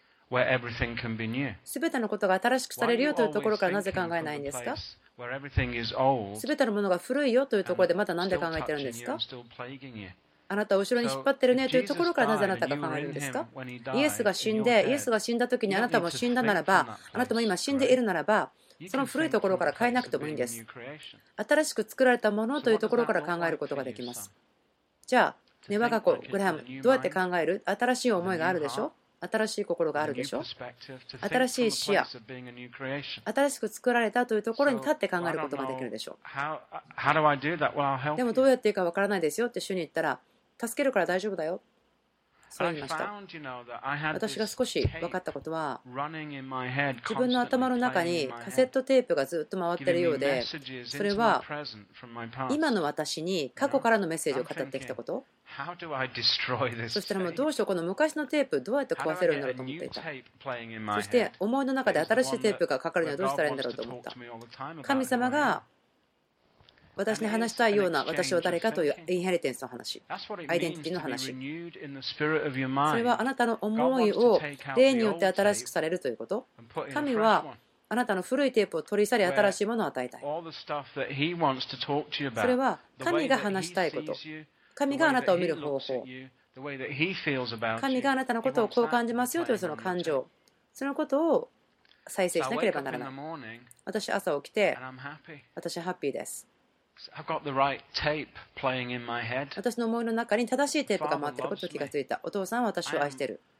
すべてのことが新しくされるよというところからなぜ考えないんですか？すべてのものが古いよというところでまだなんで考えてるんですか？あなたを後ろに引っ張ってるねというところからなぜあなたが考えるんですか？イエスが死んで、イエスが死んだ時にあなたも死んだならば、あなたも今死んでいるならば、その古いところから変えなくてもいいんです。新しく作られたものというところから考えることができます。じゃあ、ね、我が子、グラハム、どうやって考える？新しい思いがあるでしょ？新しい心があるでしょ？新しい視野、新しく作られたというところに立って考えることができるでしょう。でもどうやっていいかわからないですよって主に言ったら、助けるから大丈夫だよ。そう言いました。私が少し分かったことは、自分の頭の中にカセットテープがずっと回っているようで、それは今の私に過去からのメッセージを語ってきたこと。そしたらもうどうしよう、この昔のテープどうやって壊せるんだろうと思っていた。そして思いの中で新しいテープがかかるにはどうしたらいいんだろうと思った。神様が私に話したいような私は誰かというインヘリテンスの話、アイデンティティの話。それはあなたの思いを霊によって新しくされるということ。神はあなたの古いテープを取り去り新しいものを与えたい。それは神が話したいこと。神があなたを見る方法。神があなたのことをこう感じますよというその感情。そのことを再生しなければならない。私、朝起きて、私はハッピーです。私の思いの中に正しいテープが回っていることを気がついた。お父さんは私を愛している。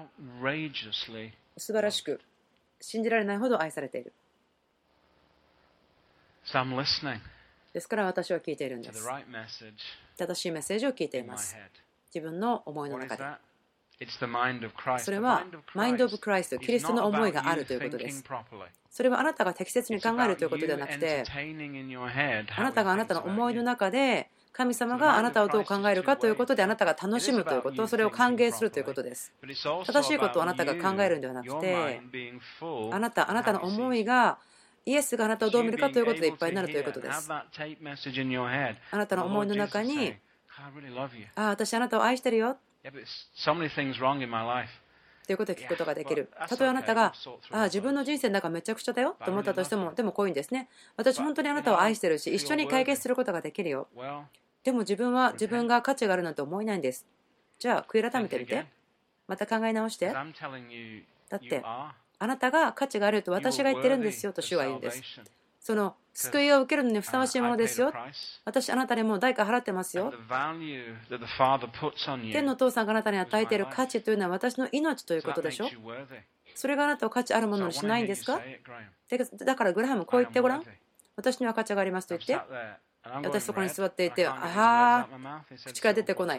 素晴らしく、信じられないほど愛されている。ですから私は聞いているんです。正しいメッセージを聞いています。自分の思いの中で。それはマインド・オブ・クライスト、キリストの思いがあるということです。それはあなたが適切に考えるということではなくて、あなたがあなたの思いの中で神様があなたをどう考えるかということであなたが楽しむということ、それを歓迎するということです。正しいことをあなたが考えるのではなくて、あなた、あなたの思いがイエスがあなたをどう見るかということでいっぱいになるということです。あなたの思いの中に、ああ、私あなたを愛してるよということを聞くことができる。たとえあなたが、ああ、自分の人生の中めちゃくちゃだよと思ったとしても、でもこういうんですね。私本当にあなたを愛してるし、一緒に解決することができるよ。でも自分は自分が価値があるなんて思えないんです。じゃあ、悔い改めてみて。また考え直して。だって、あなたが価値があると私が言ってるんですよと主は言うんです。その救いを受けるのにふさわしいものですよ。私あなたにもう代価払ってますよ。天のお父さんがあなたに与えている価値というのは私の命ということでしょ。それがあなたを価値あるものにしないんですか？だからグラハムこう言ってごらん。私には価値がありますと言って。私そこに座っていて、ああ、口から出てこない。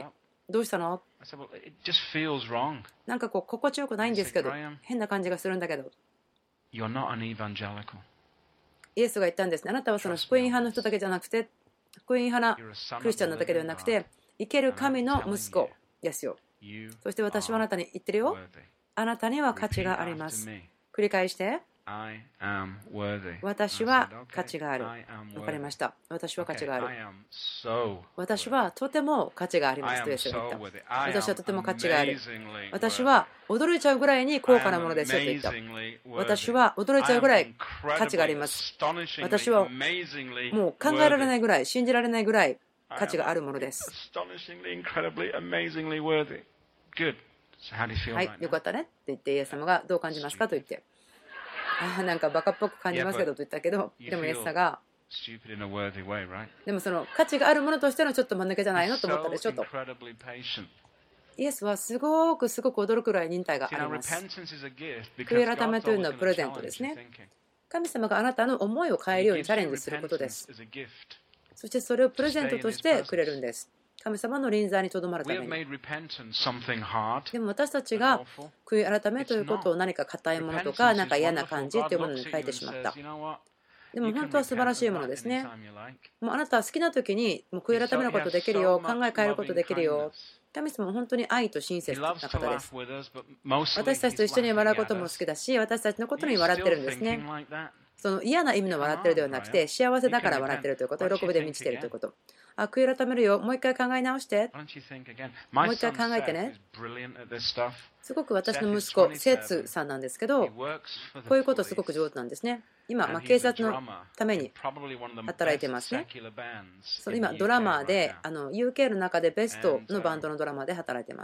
どうしたの？ I said, well, it just feels wrong. なんかこう心地よくないんですけど Graham, 変な感じがするんだけど you're not an evangelical. イエスが言ったんですね。あなたはその福音派の人だけじゃなくて福音派な You're a son クリ of スチャン the なだけでは living なく God. て生ける神の息子ですよ。 You そして私はあなたに言ってるよ。 worthy. あなたには価 Repeat 値がありま after す。 me. 繰り返して。 I am worthy. 私 I は said, 価値 okay, がある。 I am わかり worthy. ました。私は価値 Okay, がある。 I am so 私 worthy. はとても価値がありま I すとイ am エスが言っ so た。 worthy. I 私は am とても価値がある。 amazingly 私 worthy. は驚いちゃうぐらいに高 I 価な am ものですよと言った。 amazingly 私 worthy. は驚いちゃ I うぐ am らい価値があり incredibly, ます。 astonishingly, 私は amazingly もう考えられな worthy. いぐらい、信じられないぐらい I 価値 am があるものです。 astonishingly, incredibly, amazingly worthy. Good. So how do you feel はい、 right よ now? かったねって言ってイエス様がどう感じますかと言って。ああ、なんかバカっぽく感じますけどと言ったけど、でもイエス様が、 Stupid in a worthy way, right? でもその価値があるものとしてのちょっと間抜けじゃないのと思ったでしょ So と。 incredibly patient. イエスはすごくすごく驚くぐらい忍耐があ See, り now ます。 repentance is a gift 悔い because 改め God's という always のは going プ to レゼント challenge です your ね。 thinking. 神様があなたの思いを変え He るように gives チャレ you ンジすることで repentance す。 as a gift. そしてそれをプレゼントとしてくれるんです。神様の臨在にとどまるた We め have に。 made repentance something hard でも私たち and が awful. 悔い改めということを何か硬いものとか、なんか嫌な感じというものに変えてしまった。でも本当は素晴らしいものですね。もうあなたは好きな時にもう悔い改めることできるよ、考え変えることできるよ。神様は本当に愛と親切な方です。私たちと一緒に笑うことも好きだし、私たちのことに笑ってるんですね。その嫌な意味の笑ってるではなくて、幸せだから笑ってるということ、喜びで満ちているということ。あ、悔い改めるよ、もう一回考え直して。もう一回考えてね。すごく私の息子、セツさんなんですけど、こういうことすごく上手なんですね。今、まあ、警察のために働いてますね。その今、ドラマーで、あの ユーケー の中でベストのバンドのドラマーで働いてます。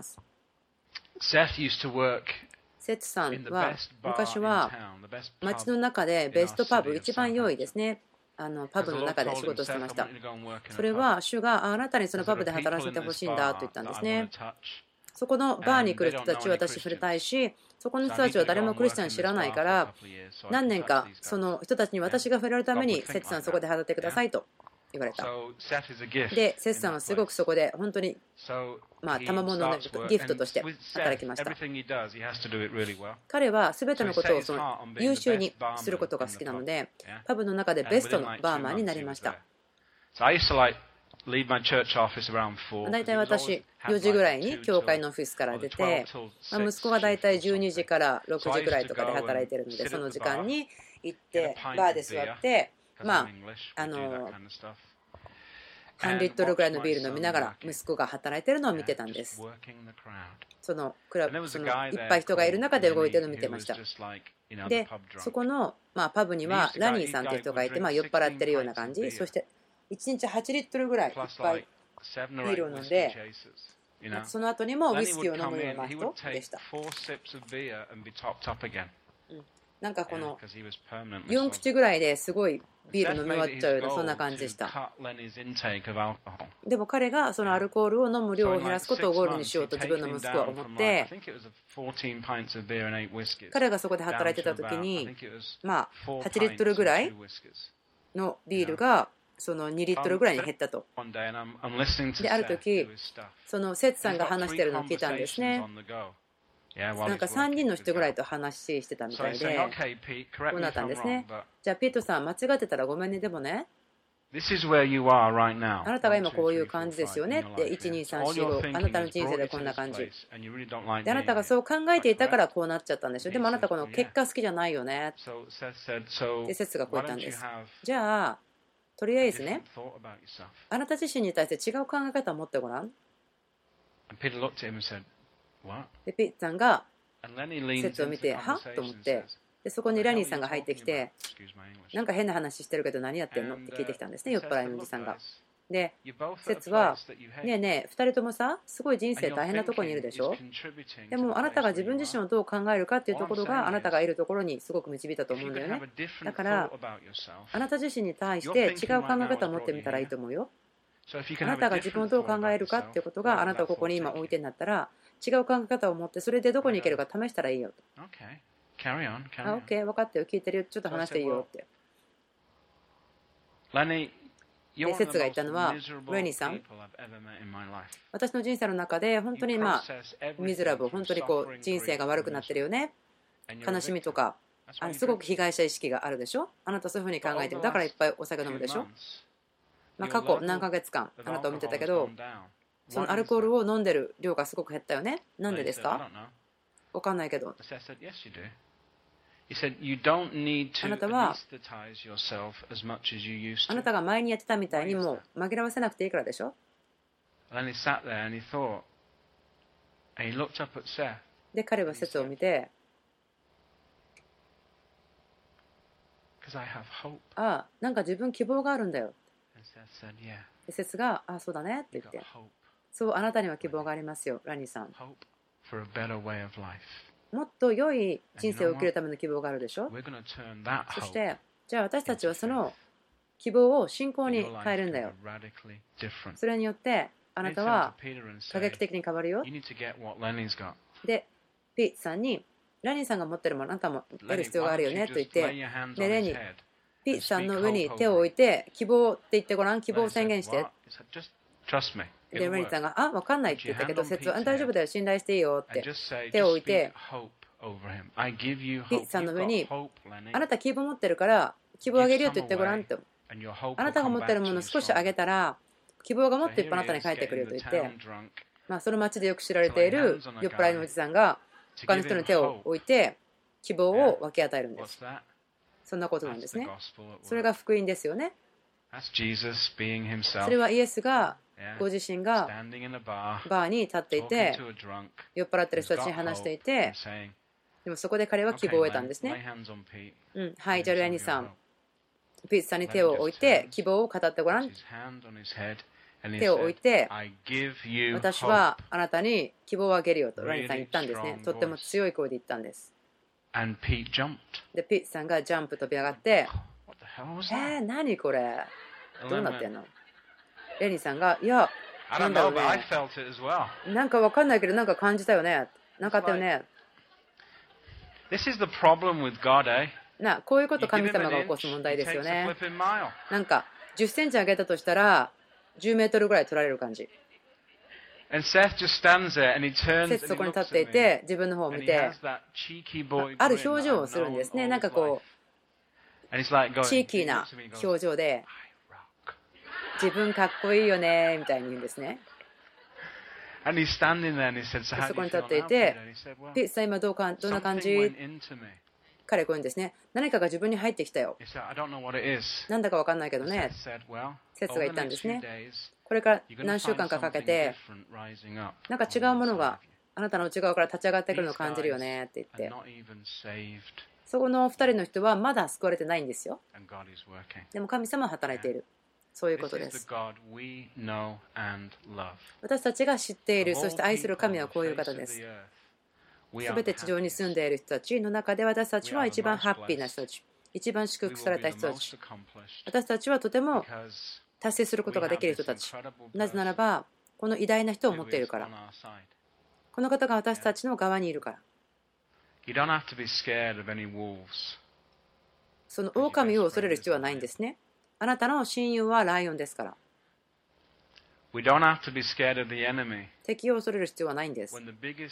セツさんは昔は街の中でベストパブ、一番良いですね。あのパブの中で仕事をしてました。それは主があなたにそのパブで働かせてほしいんだと言ったんですね。そこのバーに来る人たちを私触れたいし、そこの人たちは誰もクリスチャン知らないから、何年かその人たちに私が触れるために、セツさんそこで働いてくださいと言われた。で、セツさんはすごくそこで本当に、まあ、賜物のギフトとして働きました。彼は全てのことをその優秀にすることが好きなので、パブの中でベストのバーマンになりました。大体私、よじぐらいに教会のオフィスから出て、まあ、息子が大体じゅうにじからろくじぐらいとかで働いているので、その時間に行って、バーで座って、まあ、あの、半リットルぐらいのビール飲みながら息子が働いているのを見てたんです。そのクラブ、そのいっぱい人がいる中で動いているのを見てました。で、そこの、まあ、パブにはラニーさんという人がいて、まあ、酔っ払ってるような感じ。そしていちにちはちリットルぐらいいっぱいビールを飲んで、その後にもウイスキーを飲むような人でした。なんかこのよん口ぐらいですごいビール飲み終わっちゃうようなそんな感じでした。でも彼がそのアルコールを飲む量を減らすことをゴールにしようと自分の息子は思って、彼がそこで働いてた時にまあはちリットルぐらいのビールがそのにリットルぐらいに減ったと。で、ある時そのセツさんが話してるのを聞いたんですね。なんかさんにんの人ぐらいと話してたみたいで、こうなったんですね。じゃあピートさん間違ってたらごめんね、でもね、あなたが今こういう感じですよねって、いちにさんしご、あなたの人生でこんな感じで、あなたがそう考えていたからこうなっちゃったんでしょ。でもあなたこの結果好きじゃないよねってセツがこう言ったんです。じゃあとりあえずね、あなた自身に対して違う考え方を持ってごらん。でピッツさんがセツを見て、はと思って、でそこにラニーさんが入ってきて、なんか変な話してるけど何やってんのって聞いてきたんですね、酔っ払いのおじさんが。で、セツは、ねえねえ、ふたりともさ、すごい人生大変なところにいるでしょ。でもあなたが自分自身をどう考えるかっていうところがあなたがいるところにすごく導いたと思うんだよね。だからあなた自身に対して違う考え方を持ってみたらいいと思うよ。あなたが自分をどう考えるかっていうことがあなたをここに今置いてんだったら、違う考え方を持ってそれでどこに行けるか試したらいいよと。あ、OK、分かったよ、聞いてるよ、ちょっと話していいよって。 Lenny, 説が言ったのは、レニーさん、私の人生の中で本当にまあミズラブ、本当にこう人生が悪くなってるよね、悲しみとか、あのすごく被害者意識があるでしょ。あなたそういうふうに考えてる、だからいっぱいお酒飲むでしょ。まあ過去何ヶ月間あなたを見てたけど、そのアルコールを飲んでる量がすごく減ったよね。なんでですか？分かんないけど。あなたはあなたが前にやってたみたいにもう紛らわせなくていいからでしょ。で彼はセツを見て、ああ、なんか自分希望があるんだよ。でセツが、ああそうだねって言って、そう、あなたには希望がありますよ、ラニーさん。もっと良い人生を生きるための希望があるでしょ。そして、じゃあ私たちはその希望を信仰に変えるんだよ。それによってあなたは過激的に変わるよ。で、ピートさんに、ラニーさんが持ってるものあなたも得る必要があるよねと言って、でレニー、ピートさんの上に手を置いて、希望って言ってごらん、希望を宣言して。で、レニーさんが、あ、分かんないって言ったけど、説は大丈夫だよ、信頼していいよって手を置いて、ピートさんの上に、あなた希望持ってるから希望をあげるよと言ってごらんと。あなたが持ってるものを少しあげたら希望がもっといっぱいあなたに返ってくるよと言って、まあその町でよく知られている酔っ払いのおじさんが他の人の手を置いて希望を分け与えるんです。そんなことなんですね。それが福音ですよね。それはイエスがご自身がバーに立っていて酔っ払ってる人たちに話していて、でもそこで彼は希望を得たんですね。うん、はい、じゃあレニーさん、ピートさんに手を置いて希望を語ってごらん。手を置いて、私はあなたに希望をあげるよとレニーさん言ったんですね。とっても強い声で言ったんです。で、ピートさんがジャンプ飛び上がって、えー、何これどうなってんの？レニーさんが、いや、なんだろうね、なんかわかんないけどなんか感じたよね、なかったよね。な、こういうこと神様が起こす問題ですよね。なんかじゅっセンチ上げたとしたらじゅうメートルぐらい取られる感じ。セツそこに立っていて自分の方を見てある表情をするんですね。なんかこうチーキーな表情で、自分かっこいいよねみたいに言うんですね。そこに立っていて、ピートさん今どうかどんな感じ？彼はこう言うんですね。何かが自分に入ってきたよ。なんだか分かんないけどね。セツが言ったんですね。これから何週間かかけて、なんか違うものがあなたの内側から立ち上がってくるのを感じるよねって言って、そこのふたりの人はまだ救われてないんですよ。でも神様は働いている。そういうことです。私たちが知っている、そして愛する神はこういう方です。すべて地上に住んでいる人たちの中で私たちは一番ハッピーな人たち、一番祝福された人たち、私たちはとても達成することができる人たち。なぜならばこの偉大な人を持っているから、この方が私たちの側にいるから。その狼を恐れる必要はないんですね。あなたの親友はライオンですから。敵を恐れる必要はないんです。こ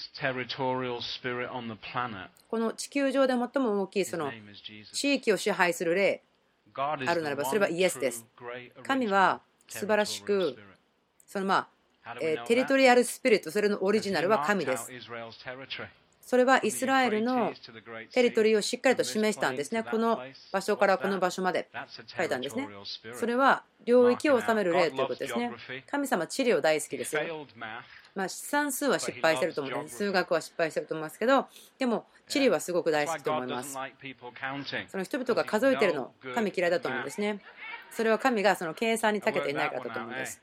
の地球上で最も大きいその地域を支配する霊あるならばそれはイエスです。神は素晴らしくそのまあえテリトリアルスピリット、それのオリジナルは神です。それはイスラエルのテリトリーをしっかりと示したんですね。この場所からこの場所まで書いたんですね。それは領域を治める霊ということですね。神様地理を大好きですよ。まあ算数は失敗してると思うんです。数学は失敗してると思いますけど、でも地理はすごく大好きと思います。その人々が数えてるの神嫌いだと思うんですね。それは神がその計算に長けていないからだと思うんです。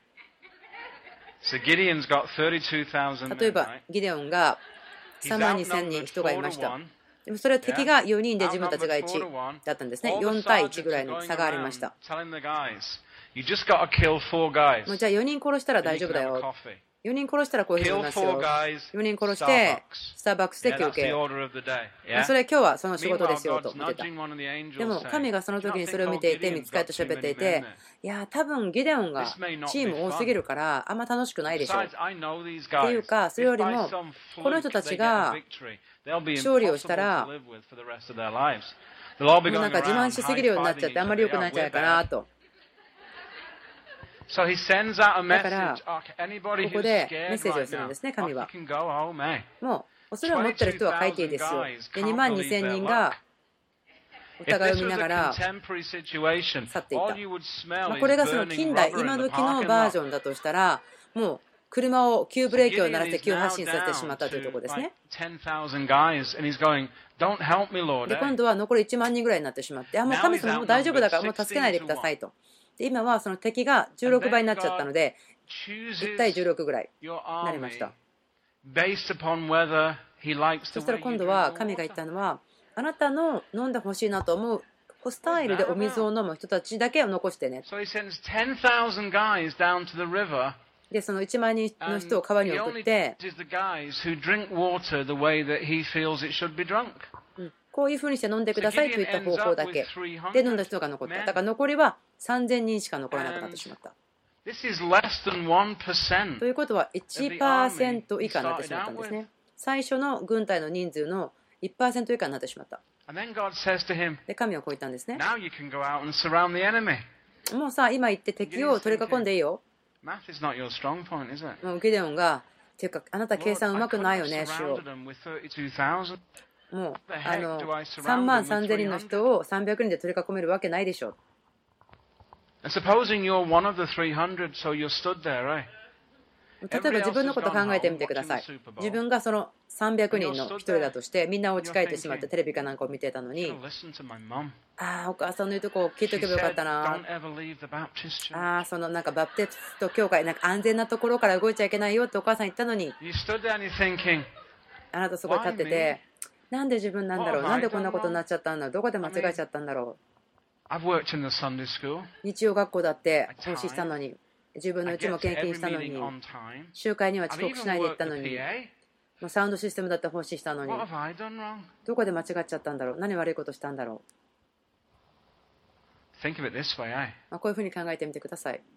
例えばギデオンがさんまんにせんにん人がいました。でもそれは敵がよにんで自分たちがいちだったんですね。よんたいいちぐらいの差がありました。もうじゃあよにん殺したら大丈夫だよ。 よにん殺したらこういうふうになりますよ。よにん殺してスターバックスで休憩。それ今日はその仕事ですよと見てた。でも神がその時にそれを見ていて、御使いと喋っていて、いや多分ギデオンがチーム多すぎるからあんま楽しくないでしょうっていうか、それよりもこの人たちが勝利をしたらもうなんか自慢しすぎるようになっちゃってあんまり良くないんじゃないかなと。だからここでメッセージをするんですね、神は。もう恐れを持っている人は書いていいですよ。でにまんにせんにんがお互いを見ながら去っていった。まあ、これがその近代今時のバージョンだとしたら、もう車を急ブレーキを鳴らして急発進させてしまったというところですね。で今度は残りいちまんにんぐらいになってしまって、あもう神様もう大丈夫だからもう助けないでくださいと。で今はその敵がじゅうろくばいになっちゃったのでいち対じゅうろくぐらいになりました。そしたら今度は神が言ったのは、あなたの飲んでほしいなと思うスタイルでお水を飲む人たちだけを残してね。でそのいちまんにんの人を川に送って、うん、こういうふうにして飲んでくださいといった方法だけで飲んだ人が残った。だから残りはさんぜんにんしか残らなくなってしまった。ということは いちパーセント 以下になってしまったんですね。最初の軍隊の人数の いちパーセント 以下になってしまった。で神はこう言ったんですね。もうさ今言って敵を取り囲んでいいよ。もうギデオンがっていうかあなた計算うまくないよね主よ。もうあのさんまんさんぜんにんの人をさんびゃくにんで取り囲めるわけないでしょ。例えば自分のことを考えてみてください。自分がそのさんびゃくにんの一人だとしてみんなお家帰ってしまってテレビかなんかを見てたのに、ああお母さんの言うとこを聞いておけばよかったな、ああそのなんかバプテスト教会なんか安全なところから動いちゃいけないよってお母さん言ったのに、あなたそこに立ってて、なんで自分なんだろう、なんでこんなことになっちゃったんだろう、どこで間違えちゃったんだろう。日曜学校だって奉仕したのに、自分のうちも献金したのに、集会には遅刻しないで行ったのに、もうサウンドシステムだって奉仕したのに、どこで間違っちゃったんだろう、何悪いことしたんだろう。まあこういうふうに考えてみてください。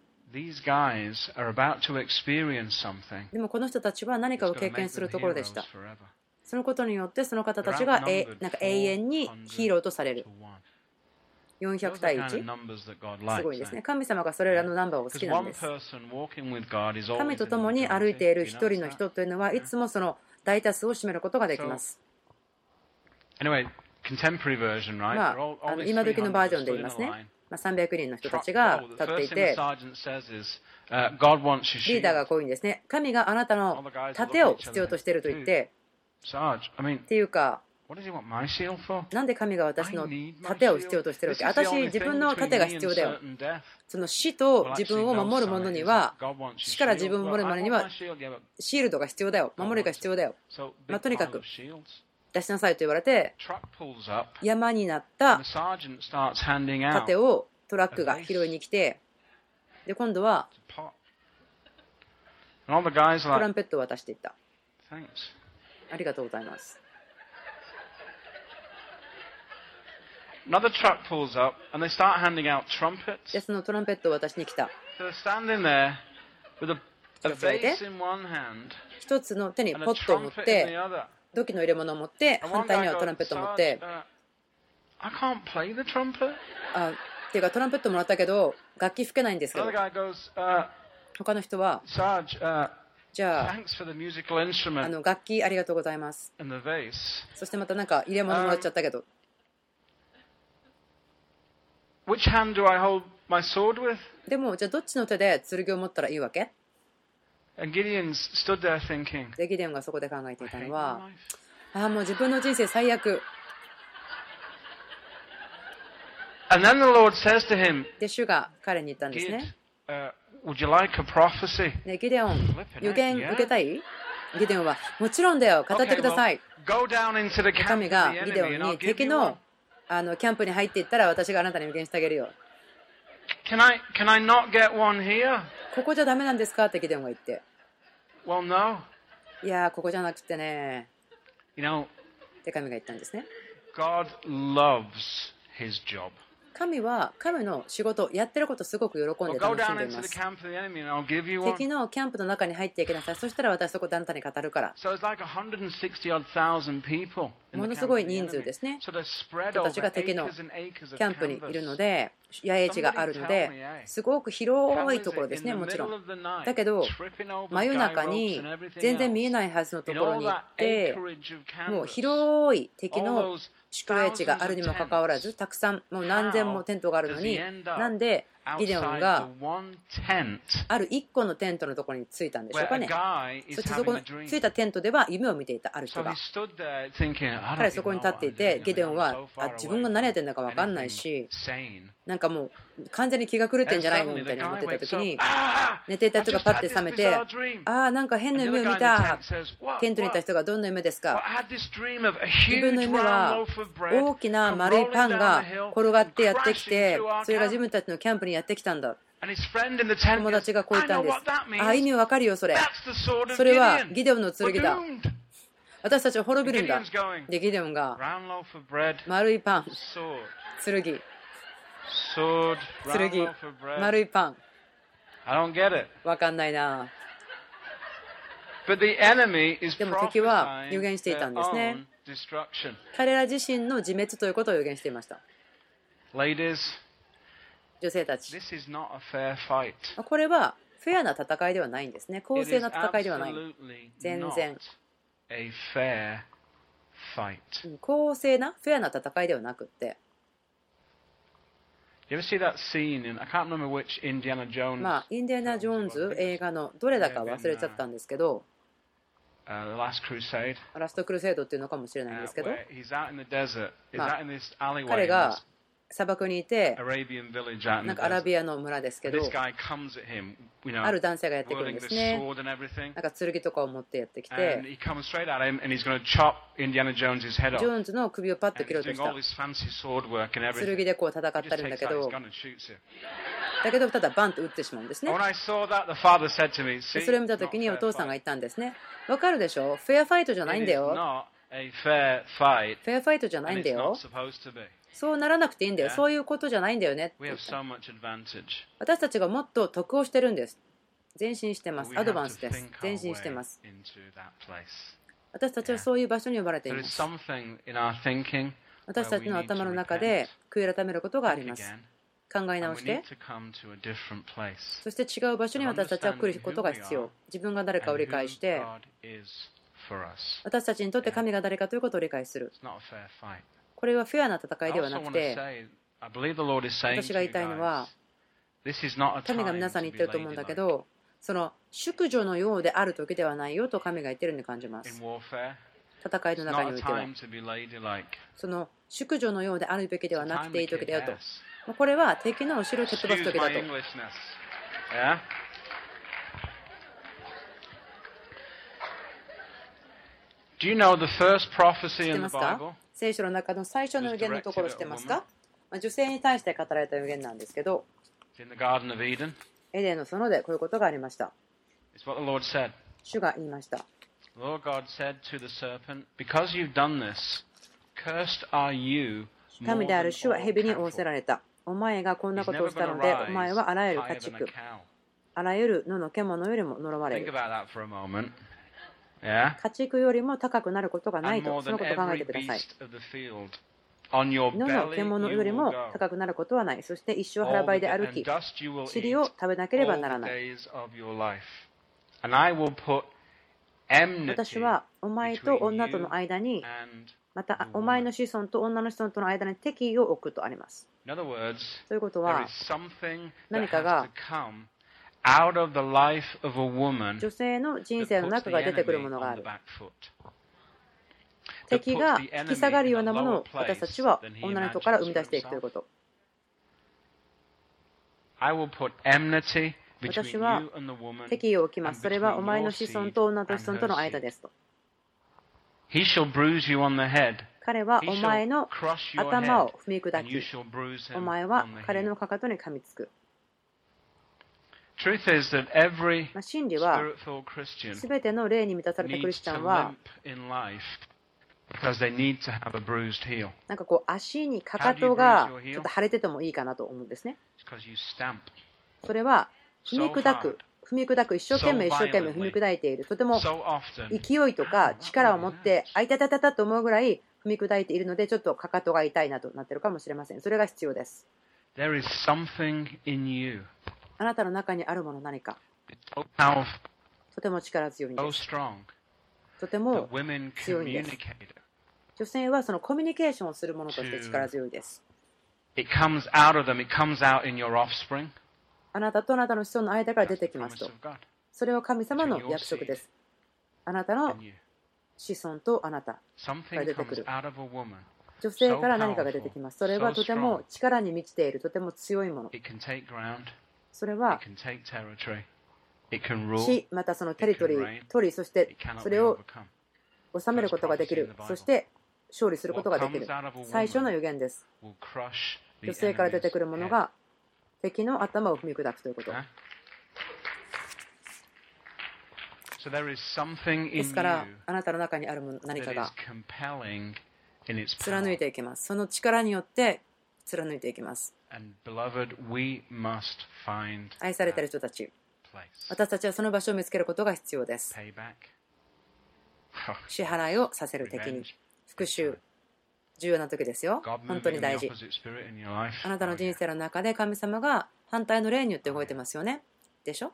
でもこの人たちは何かを経験するところでした。そのことによってその方たちがえなんか永遠にヒーローとされる。よんひゃくたいいち、すごいですね。神様がそれらのナンバーを好きなんです。神と共に歩いている一人の人というのはいつもその大多数を占めることができます。まあ、あの今時のバージョンで言いますね。まあ、さんびゃくにんの人たちが立っていて、リーダーがこういうんですね。神があなたの盾を必要としていると言って、っていうか、なんで神が私の盾を必要としてるわけ？私、自分の盾が必要だよ。その死と自分を守る者には、死から自分を守る者には、シールドが必要だよ。守りが必要だよ。まあ、とにかく、出しなさいと言われて、山になった盾をトラックが拾いに来て、で、今度は、トランペットを渡していった。ありがとうございます。 Another truck pulls up and they start handing out trumpets. でそのトランペットを渡しに来た。 So they're standing there with a, a bass in one hand. 一つの手にポットを持って、土器の入れ物を持って、反対にはトランペットを持って。 I can't play the trumpet. あ、っていうかトランペットもらったけど楽器吹けないんですけど。他の人は。じゃあ、あの楽器ありがとうございます。そしてまたなんか入れ物もらっちゃったけど。 Which hand do I hold my sword with? でもじゃあどっちの手で剣を持ったらいいわけ？ And Gideon stood there thinking. でギデオンがそこで考えていたのは、ああもう自分の人生最悪。 And then the Lord says to him. で主が彼に言ったんですね。 Uh, would you like a prophecy? ねギデオン、予言受けたい？ギデオンはもちろんだよ、語ってください。神がギデオンに敵のあのキャンプに入っていったら私があなたに予言してあげるよ。 Can I, can I not get one here? ここじゃダメなんですかってギデオンが言って。 Well, no. いやー、ここじゃなくてね、 You know, って神が言ったんですね。 God loves his job. 神は彼の仕事、やってることすごく喜ん Well, で go 楽しん down でい into ま the す。 camp of the enemy and I'll give you one. 敵のキャンプの中に入っていきなさい。そしたら私そこであなたに語るから。 So it's like one hundred sixty odd thousand people in も the の camp す of ご the い人数 enemy. ですね。 So they're spread 人た over ちが敵の acres and acres of キャンプにいるの canvas. で、野営地があるので、すごく広いところですね、もちろん。だけど、真夜中に全然見えないはずのところに行って、もう広い敵の宿営地があるにもかかわらず、たくさん、もう何千もテントがあるのに、なんでギデオンがある一個のテントのところに着いたんでしょうかね。そしてそこに着いたテントでは夢を見ていたある人が。彼はそこに立っていて、ギデオンはあ自分が何やってんだか分かんないし、なんかもう完全に気が狂ってんじゃないのみたいに思ってた時に、寝ていた人がパッて覚めて、ああ、なんか変な夢を見た。テントにいた人がどんな夢ですか。自分の夢は大きな丸いパンが転がってやってきて、それが自分たちのキャンプにやってきたんだ。友達がこう言ったんです。ああ、意味わかるよ、それ。それはギデオンの剣だ。私たちは滅びるんだ。で、ギデオンが丸いパン、剣、剣、丸いパン。わかんないな。でも敵は予言していたんですね。彼ら自身の自滅ということを予言していました。女性たち、これはフェアな戦いではないんですね。公正な戦いではない。全然公正なフェアな戦いではなくって、まあインディアナ・ジョーンズ映画のどれだか忘れちゃったんですけど、ラストクルセイドっていうのかもしれないんですけど、まあ、彼が砂漠にいて、なんかアラビアの村ですけど、ある男性がやってくるんですね。なんか剣とかを持ってやってきて、ジョーンズの首をパッと切ろうとした。剣でこう戦ったりんだけど、だけどただバンと撃ってしまうんですね。それを見たときにお父さんが言ったんですね。わかるでしょ？フェアファイトじゃないんだよ。フェアファイトじゃないんだよ。そうならなくていいんだよ。そういうことじゃないんだよね。私たちがもっと得をしてるんです。前進してます。アドバンスです。前進してます。私たちはそういう場所に呼ばれています。私たちの頭の中で悔い改めることがあります。考え直して、そして違う場所に私たちは来ることが必要。自分が誰かを理解して、私たちにとって神が誰かということを理解する。これはフェアな戦いではなくて、私が言いたいのは、神が皆さんに言ってると思うんだけど、その淑女のようである時ではないよと神が言ってるように感じます。戦いの中においては、その淑女のようであるべきではなくていい時だよと。これは敵の後ろを蹴っ飛ばす時だと。知ってますか？聖書の中の最初の予言のところ知ってますか？女性に対して語られた予言なんですけど、エデンの園でこういうことがありました。主が言いました。神である主は蛇に仰せられた。お前がこんなことをしたので、お前はあらゆる家畜、あらゆる野の獣よりも呪われる。家畜よりも高くなることがないと、そのことを考えてください。野の獣よりも高くなることはない。そして一生腹ばいで歩き、塵を食べなければならない。私はお前と女との間に、またお前の子孫と女の子孫との間に敵意を置くとあります。ということは、何かが女性の人生の中が出てくるものがある。敵が引き下がるようなものを私たちは女の人から生み出していくということ。私は敵意を置きます。それはお前の子孫と女の子孫との間ですと。彼はお前の頭を踏み砕き、お前は彼のかかとに噛みつく。 Truth is that every まあ真理は spirit-filled Christian すべての霊に満たされたクリ needs スチャ to ンは limp in life because they need to have a bruised heel. なんかこう足にかかとがちょっと腫れててもいいかなと思うんですね。 It's because you stamp それは踏み砕く踏み砕く一生懸命一生懸命踏み砕いている、とても so often. 勢いとか力を持ってあいたたたたと思うぐらい踏み砕いているので、ちょっとかかとが痛いなとなっているかもしれません。それが必要です。 There is something in you. あなたの中にあるもの、何か It's so powerful, とても力強いん so です。 strong とても that women 強いんです。 communicate it. 女性はそのコミュニケーションをするものとして力強いです。 It comes out of them. It comes out in your offspring. あなたとあなたの子孫の間から出 That's て the きます promise と。 of God. それは神様の約束です。あなたの And you. 子孫とあなたか Something ら出て comes くる。 out of a woman. 女性から何かが出てきます。それはとても力に満ちている、とても強いもの。 It can take ground. それは It can take territory. It can rule. 地、またそのテリトリー、取り、そして It cannot そ be れを overcome. 収めることができる。そして勝利することができる。最初の予言です。 Will crush the 女性から出てくるもの enemy's head. が敵の頭を踏み砕くということ。 Huh? So there is something で in すから you あなたの中にあるもの何 that か is が compelling in its 貫い power. ていきます。その力によって貫いていきます。 And beloved, we must find 愛されている that 人たち、 place. 私たちはその場所を見つけることが必要です。 Payback. 支払いをさせる敵に、復讐、重要な時ですよ。 God 本当 moving に in 大 the 事。 opposite spirit in your life. あなたの Oh, 人 yeah. 生の中で神様が反対の霊によって動いてますよね。でしょ？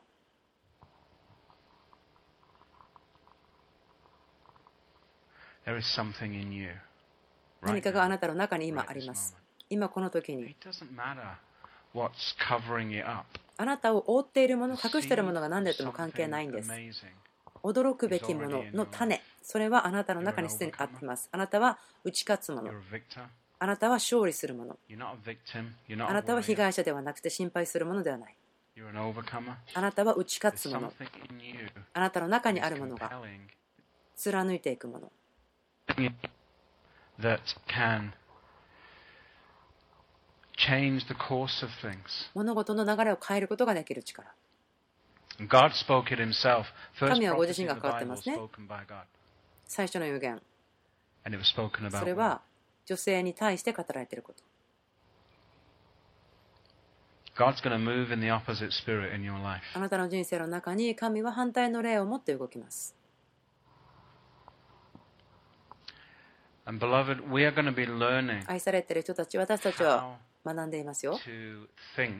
There is something in you. 何 Right かがあ now. なたの中に今 Right あ this ります。 moment. 今この時に It doesn't matter what's covering it up. あなたを覆っているもの、 The 隠しているも seed のが of 何であっても関係ないん something です。 amazing. 驚くべきものの種、それはあなたの中にすでにあっています。あなたは打ち勝つもの。 You're a victor. あなたは勝利するもの。 You're not a victim. You're not あ a なたは被 warrior. 害者ではなくて心配するものではない。 You're an overcomer. あなたは打ち勝 There's つもの。 something in you あなたの中に that あ is るものが compelling 貫いていくもの。 that can change the course of things. 物事の流れを変えることができる力。 God spoke it himself. First 神はご自 prophecy 身 in が the 関わってま Bible すね。 spoken by God. 最初の予言。 And it was spoken そ about れ women. は女性に対して語られていること。 God's going to move in the opposite spirit in your life. あなたの人生の中に神は反対の霊を持って動きます。 And beloved, we are going to be learning 愛されている人たち、私たちは学んでいますよ。 to think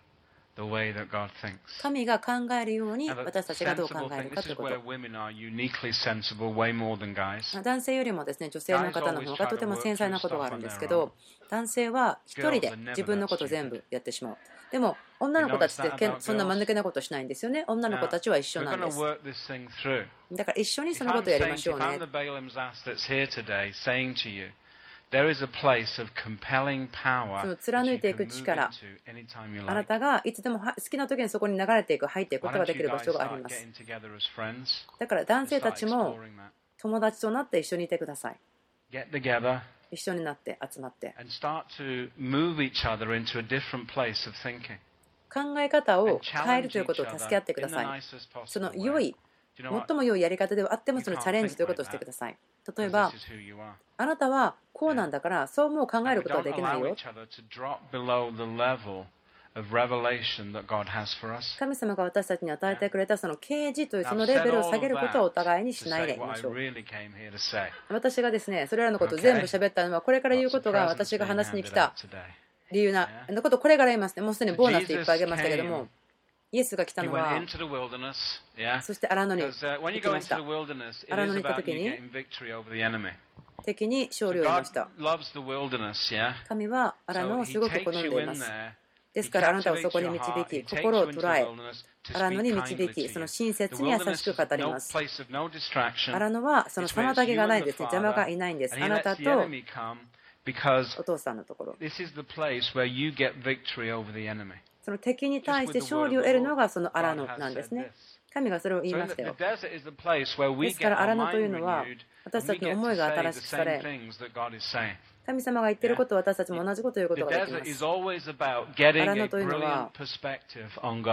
the way that God thinks. 神が考えるように Now, the 私たちがどう考 sensible える thing, か this という is こ where と。 women are uniquely sensible way more than guys. 男性よりもですね、女性の方の方がとても繊細なことがあるんですけど、男性は一人で自分のことを全部やってしまう。でも女の子たちってけんそんな間抜けなことしないんですよね。女の子たちは一緒 We're なん going で to す。 work this thing through. だから一緒に If そのこ I'm とをやり saying, ましょ if う I'm ね the。Balaam's ass that's here today saying to you, there is a place of compelling そ power の that 貫 you いてい can く move 力、 into anytime you あな like. たがいつでもは好きな時にそこに流れていく、入っていくこ Why とが don't でき you る場 guys 所があり start ます。 getting together as friends だから男 and 性た start ちも exploring that? 友達となって一緒にいてください。 Get together 一緒になって集まって。 and start to move each other into a different place of thinking. 考え方 And を変える challenge ということ each を助け合 other ってくだ in the さい。 nicest その possible 良 way. い、 Do you know what? 最も良いやり方ではあってもそのチャレンジということをしてください。例え Because ば this、is who you are. あなたはこうなんだからそうもう考え And る we ことは don't できない allow よ。 each other to drop below the level of revelation that God has for us. 神様が私たちに与えてくれたその啓示というそのレベルを下げることはお互いに To しないで say いま what I しょう。 really came here to say. 私がですね、それらのことを全部喋ったのはこれから言う Lots こ of とが presents 私が being 話しに来 handed た out today. 理由なのことをこれから言いますね。もうすでにボーナスでいっぱいあげましたけども、イエスが来た He の went は、 into the wilderness, yeah. そして荒野に Because uh, when 行 you き go まし into た the。wilderness, it 荒 is 野に行った about 時 you に getting victory over the enemy. 敵に勝 So 利を得ま God した。 loves the wilderness, yeah. 神は荒野 So をす He ごく takes 好ん you でい in ます。 there. です He からあなたをそ captivates こに your 導 heart. き、 He takes 心 you を into 捉 the え、 wilderness to 荒野に speak 導 kindly き、 to その you. 親 The 切に優 wilderness しく is 語り no ます。 place of no distraction. 荒野はその It's where 妨 it's げ you がない and ん the ですね。邪魔が Father, いないんです。 and あ He な lets た the と enemy come because お父さんのところ。 this is the place where you get victory over the enemy. その敵に対して勝利を得るのがその荒野なんですね。神がそれを言い So ま in し the, たよ。 the desert is the place where we ですから get 荒 our 野という mind のは renewed 私 and た we ちの get 思い to が say 新 the しくさ same れ、 things that God is saying. 神様が言っていることを私たちも同じことを言うこ The とができ desert ま is す。 always about getting 荒 a 野というのは brilliant perspective on God.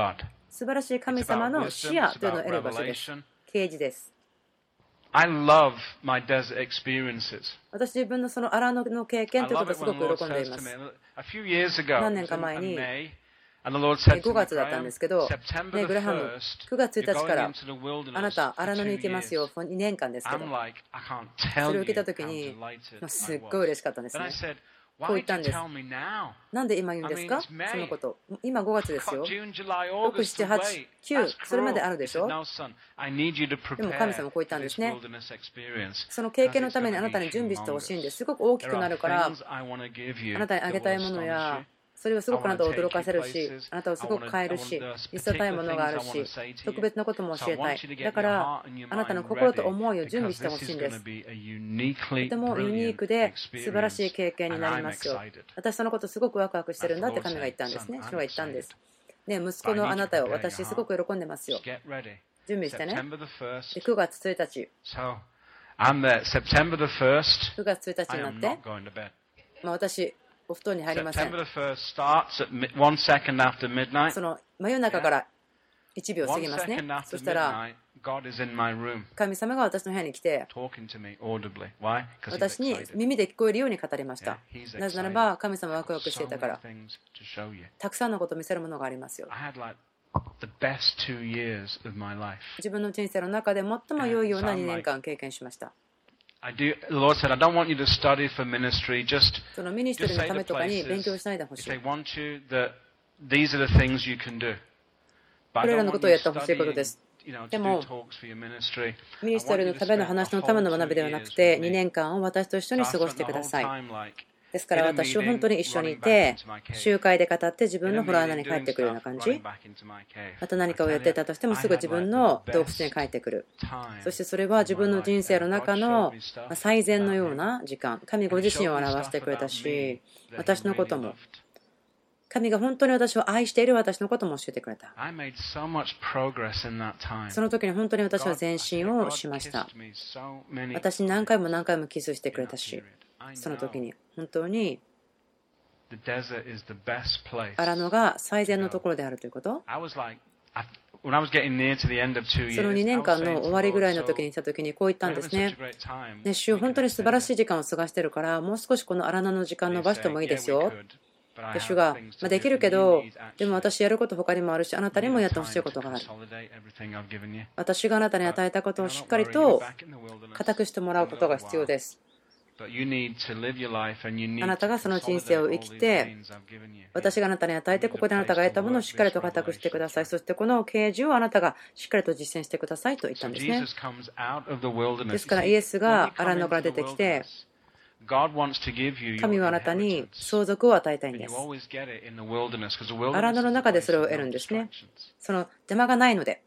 素晴らしい神様の視野というのを得る場所です。啓示です。 I love my desert experiences. 私自分のその荒野の経験ということをすごく喜んでいます。何年か前にごがつだったんですけど、ね、グラハム、くがつついたちからあなた荒野に行きますよ、にねんかんですけど、それを受けたときにすっごい嬉しかったんですね。こう言ったんです。なんで今言うんですか、そのこと。今ごがつですよ。ろく、しち、はち、きゅう、それまであるでしょ。でも神様こう言ったんですね。その経験のためにあなたに準備してほしいんです。すごく大きくなるから、あなたにあげたいものや、それはすごくあなたを驚かせるし、あなたをすごく変えるし、見せたいものがあるし、特別なことも教えたい。だから、あなたの心と思いを準備してほしいんです。とてもユニークで素晴らしい経験になりますよ。私そのことすごくワクワクしてるんだって神が言ったんですね。主が言ったんです。ね、息子のあなたを私すごく喜んでますよ。準備してね。でくがつついたち。くがつついたちになって、まあ私、お布団に入りません。その真夜中からいちびょう過ぎますね。そしたら、神様が私の部屋に来て、私に耳で聞こえるように語りました。なぜならば、神様はワクワクしていたから、たくさんのことを見せるものがありますよ。自分の人生の中で最も良いようなにねんかん経験しました。 I do, the Lord said, I don't want you to study for ministry, just, そのミニストリーのためとかに勉強しないでほしい。 これらのことをやってほしいことです。でも、ミニストリーのための話のための学びではなくて、にねんかんを私と一緒に過ごしてください。ですから私は本当に一緒にいて、集会で語って自分の洞穴に帰ってくるような感じ。また何かをやっていたとしてもすぐ自分の洞窟に帰ってくる。そしてそれは自分の人生の中の最善のような時間。神ご自身を表してくれたし、私のことも。神が本当に私を愛している私のことも教えてくれた。その時に本当に私は前進をしました。私に何回も何回もキスしてくれたし、その時に本当に荒野が最善のところであるということ。そのにねんかんの終わりぐらいの時に来た時にこう言ったんですね。ね、主、本当に素晴らしい時間を過ごしてるから、もう少しこの荒野の時間伸ばしてもいいですよ。で主が、まあ、できるけど、でも私やること他にもあるし、あなたにもやってほしいことがある。私があなたに与えたことをしっかりと固くしてもらうことが必要です。あなたがその人生を生きて、私があなたに与えて、ここであなたが得たものをしっかりと固くしてください。そしてこの啓示をあなたがしっかりと実践してくださいと言ったんですね。ですからイエスが荒野から出てきて、神はあなたに相続を与えたいんです。荒野の中でそれを得るんですね。その邪魔がないので。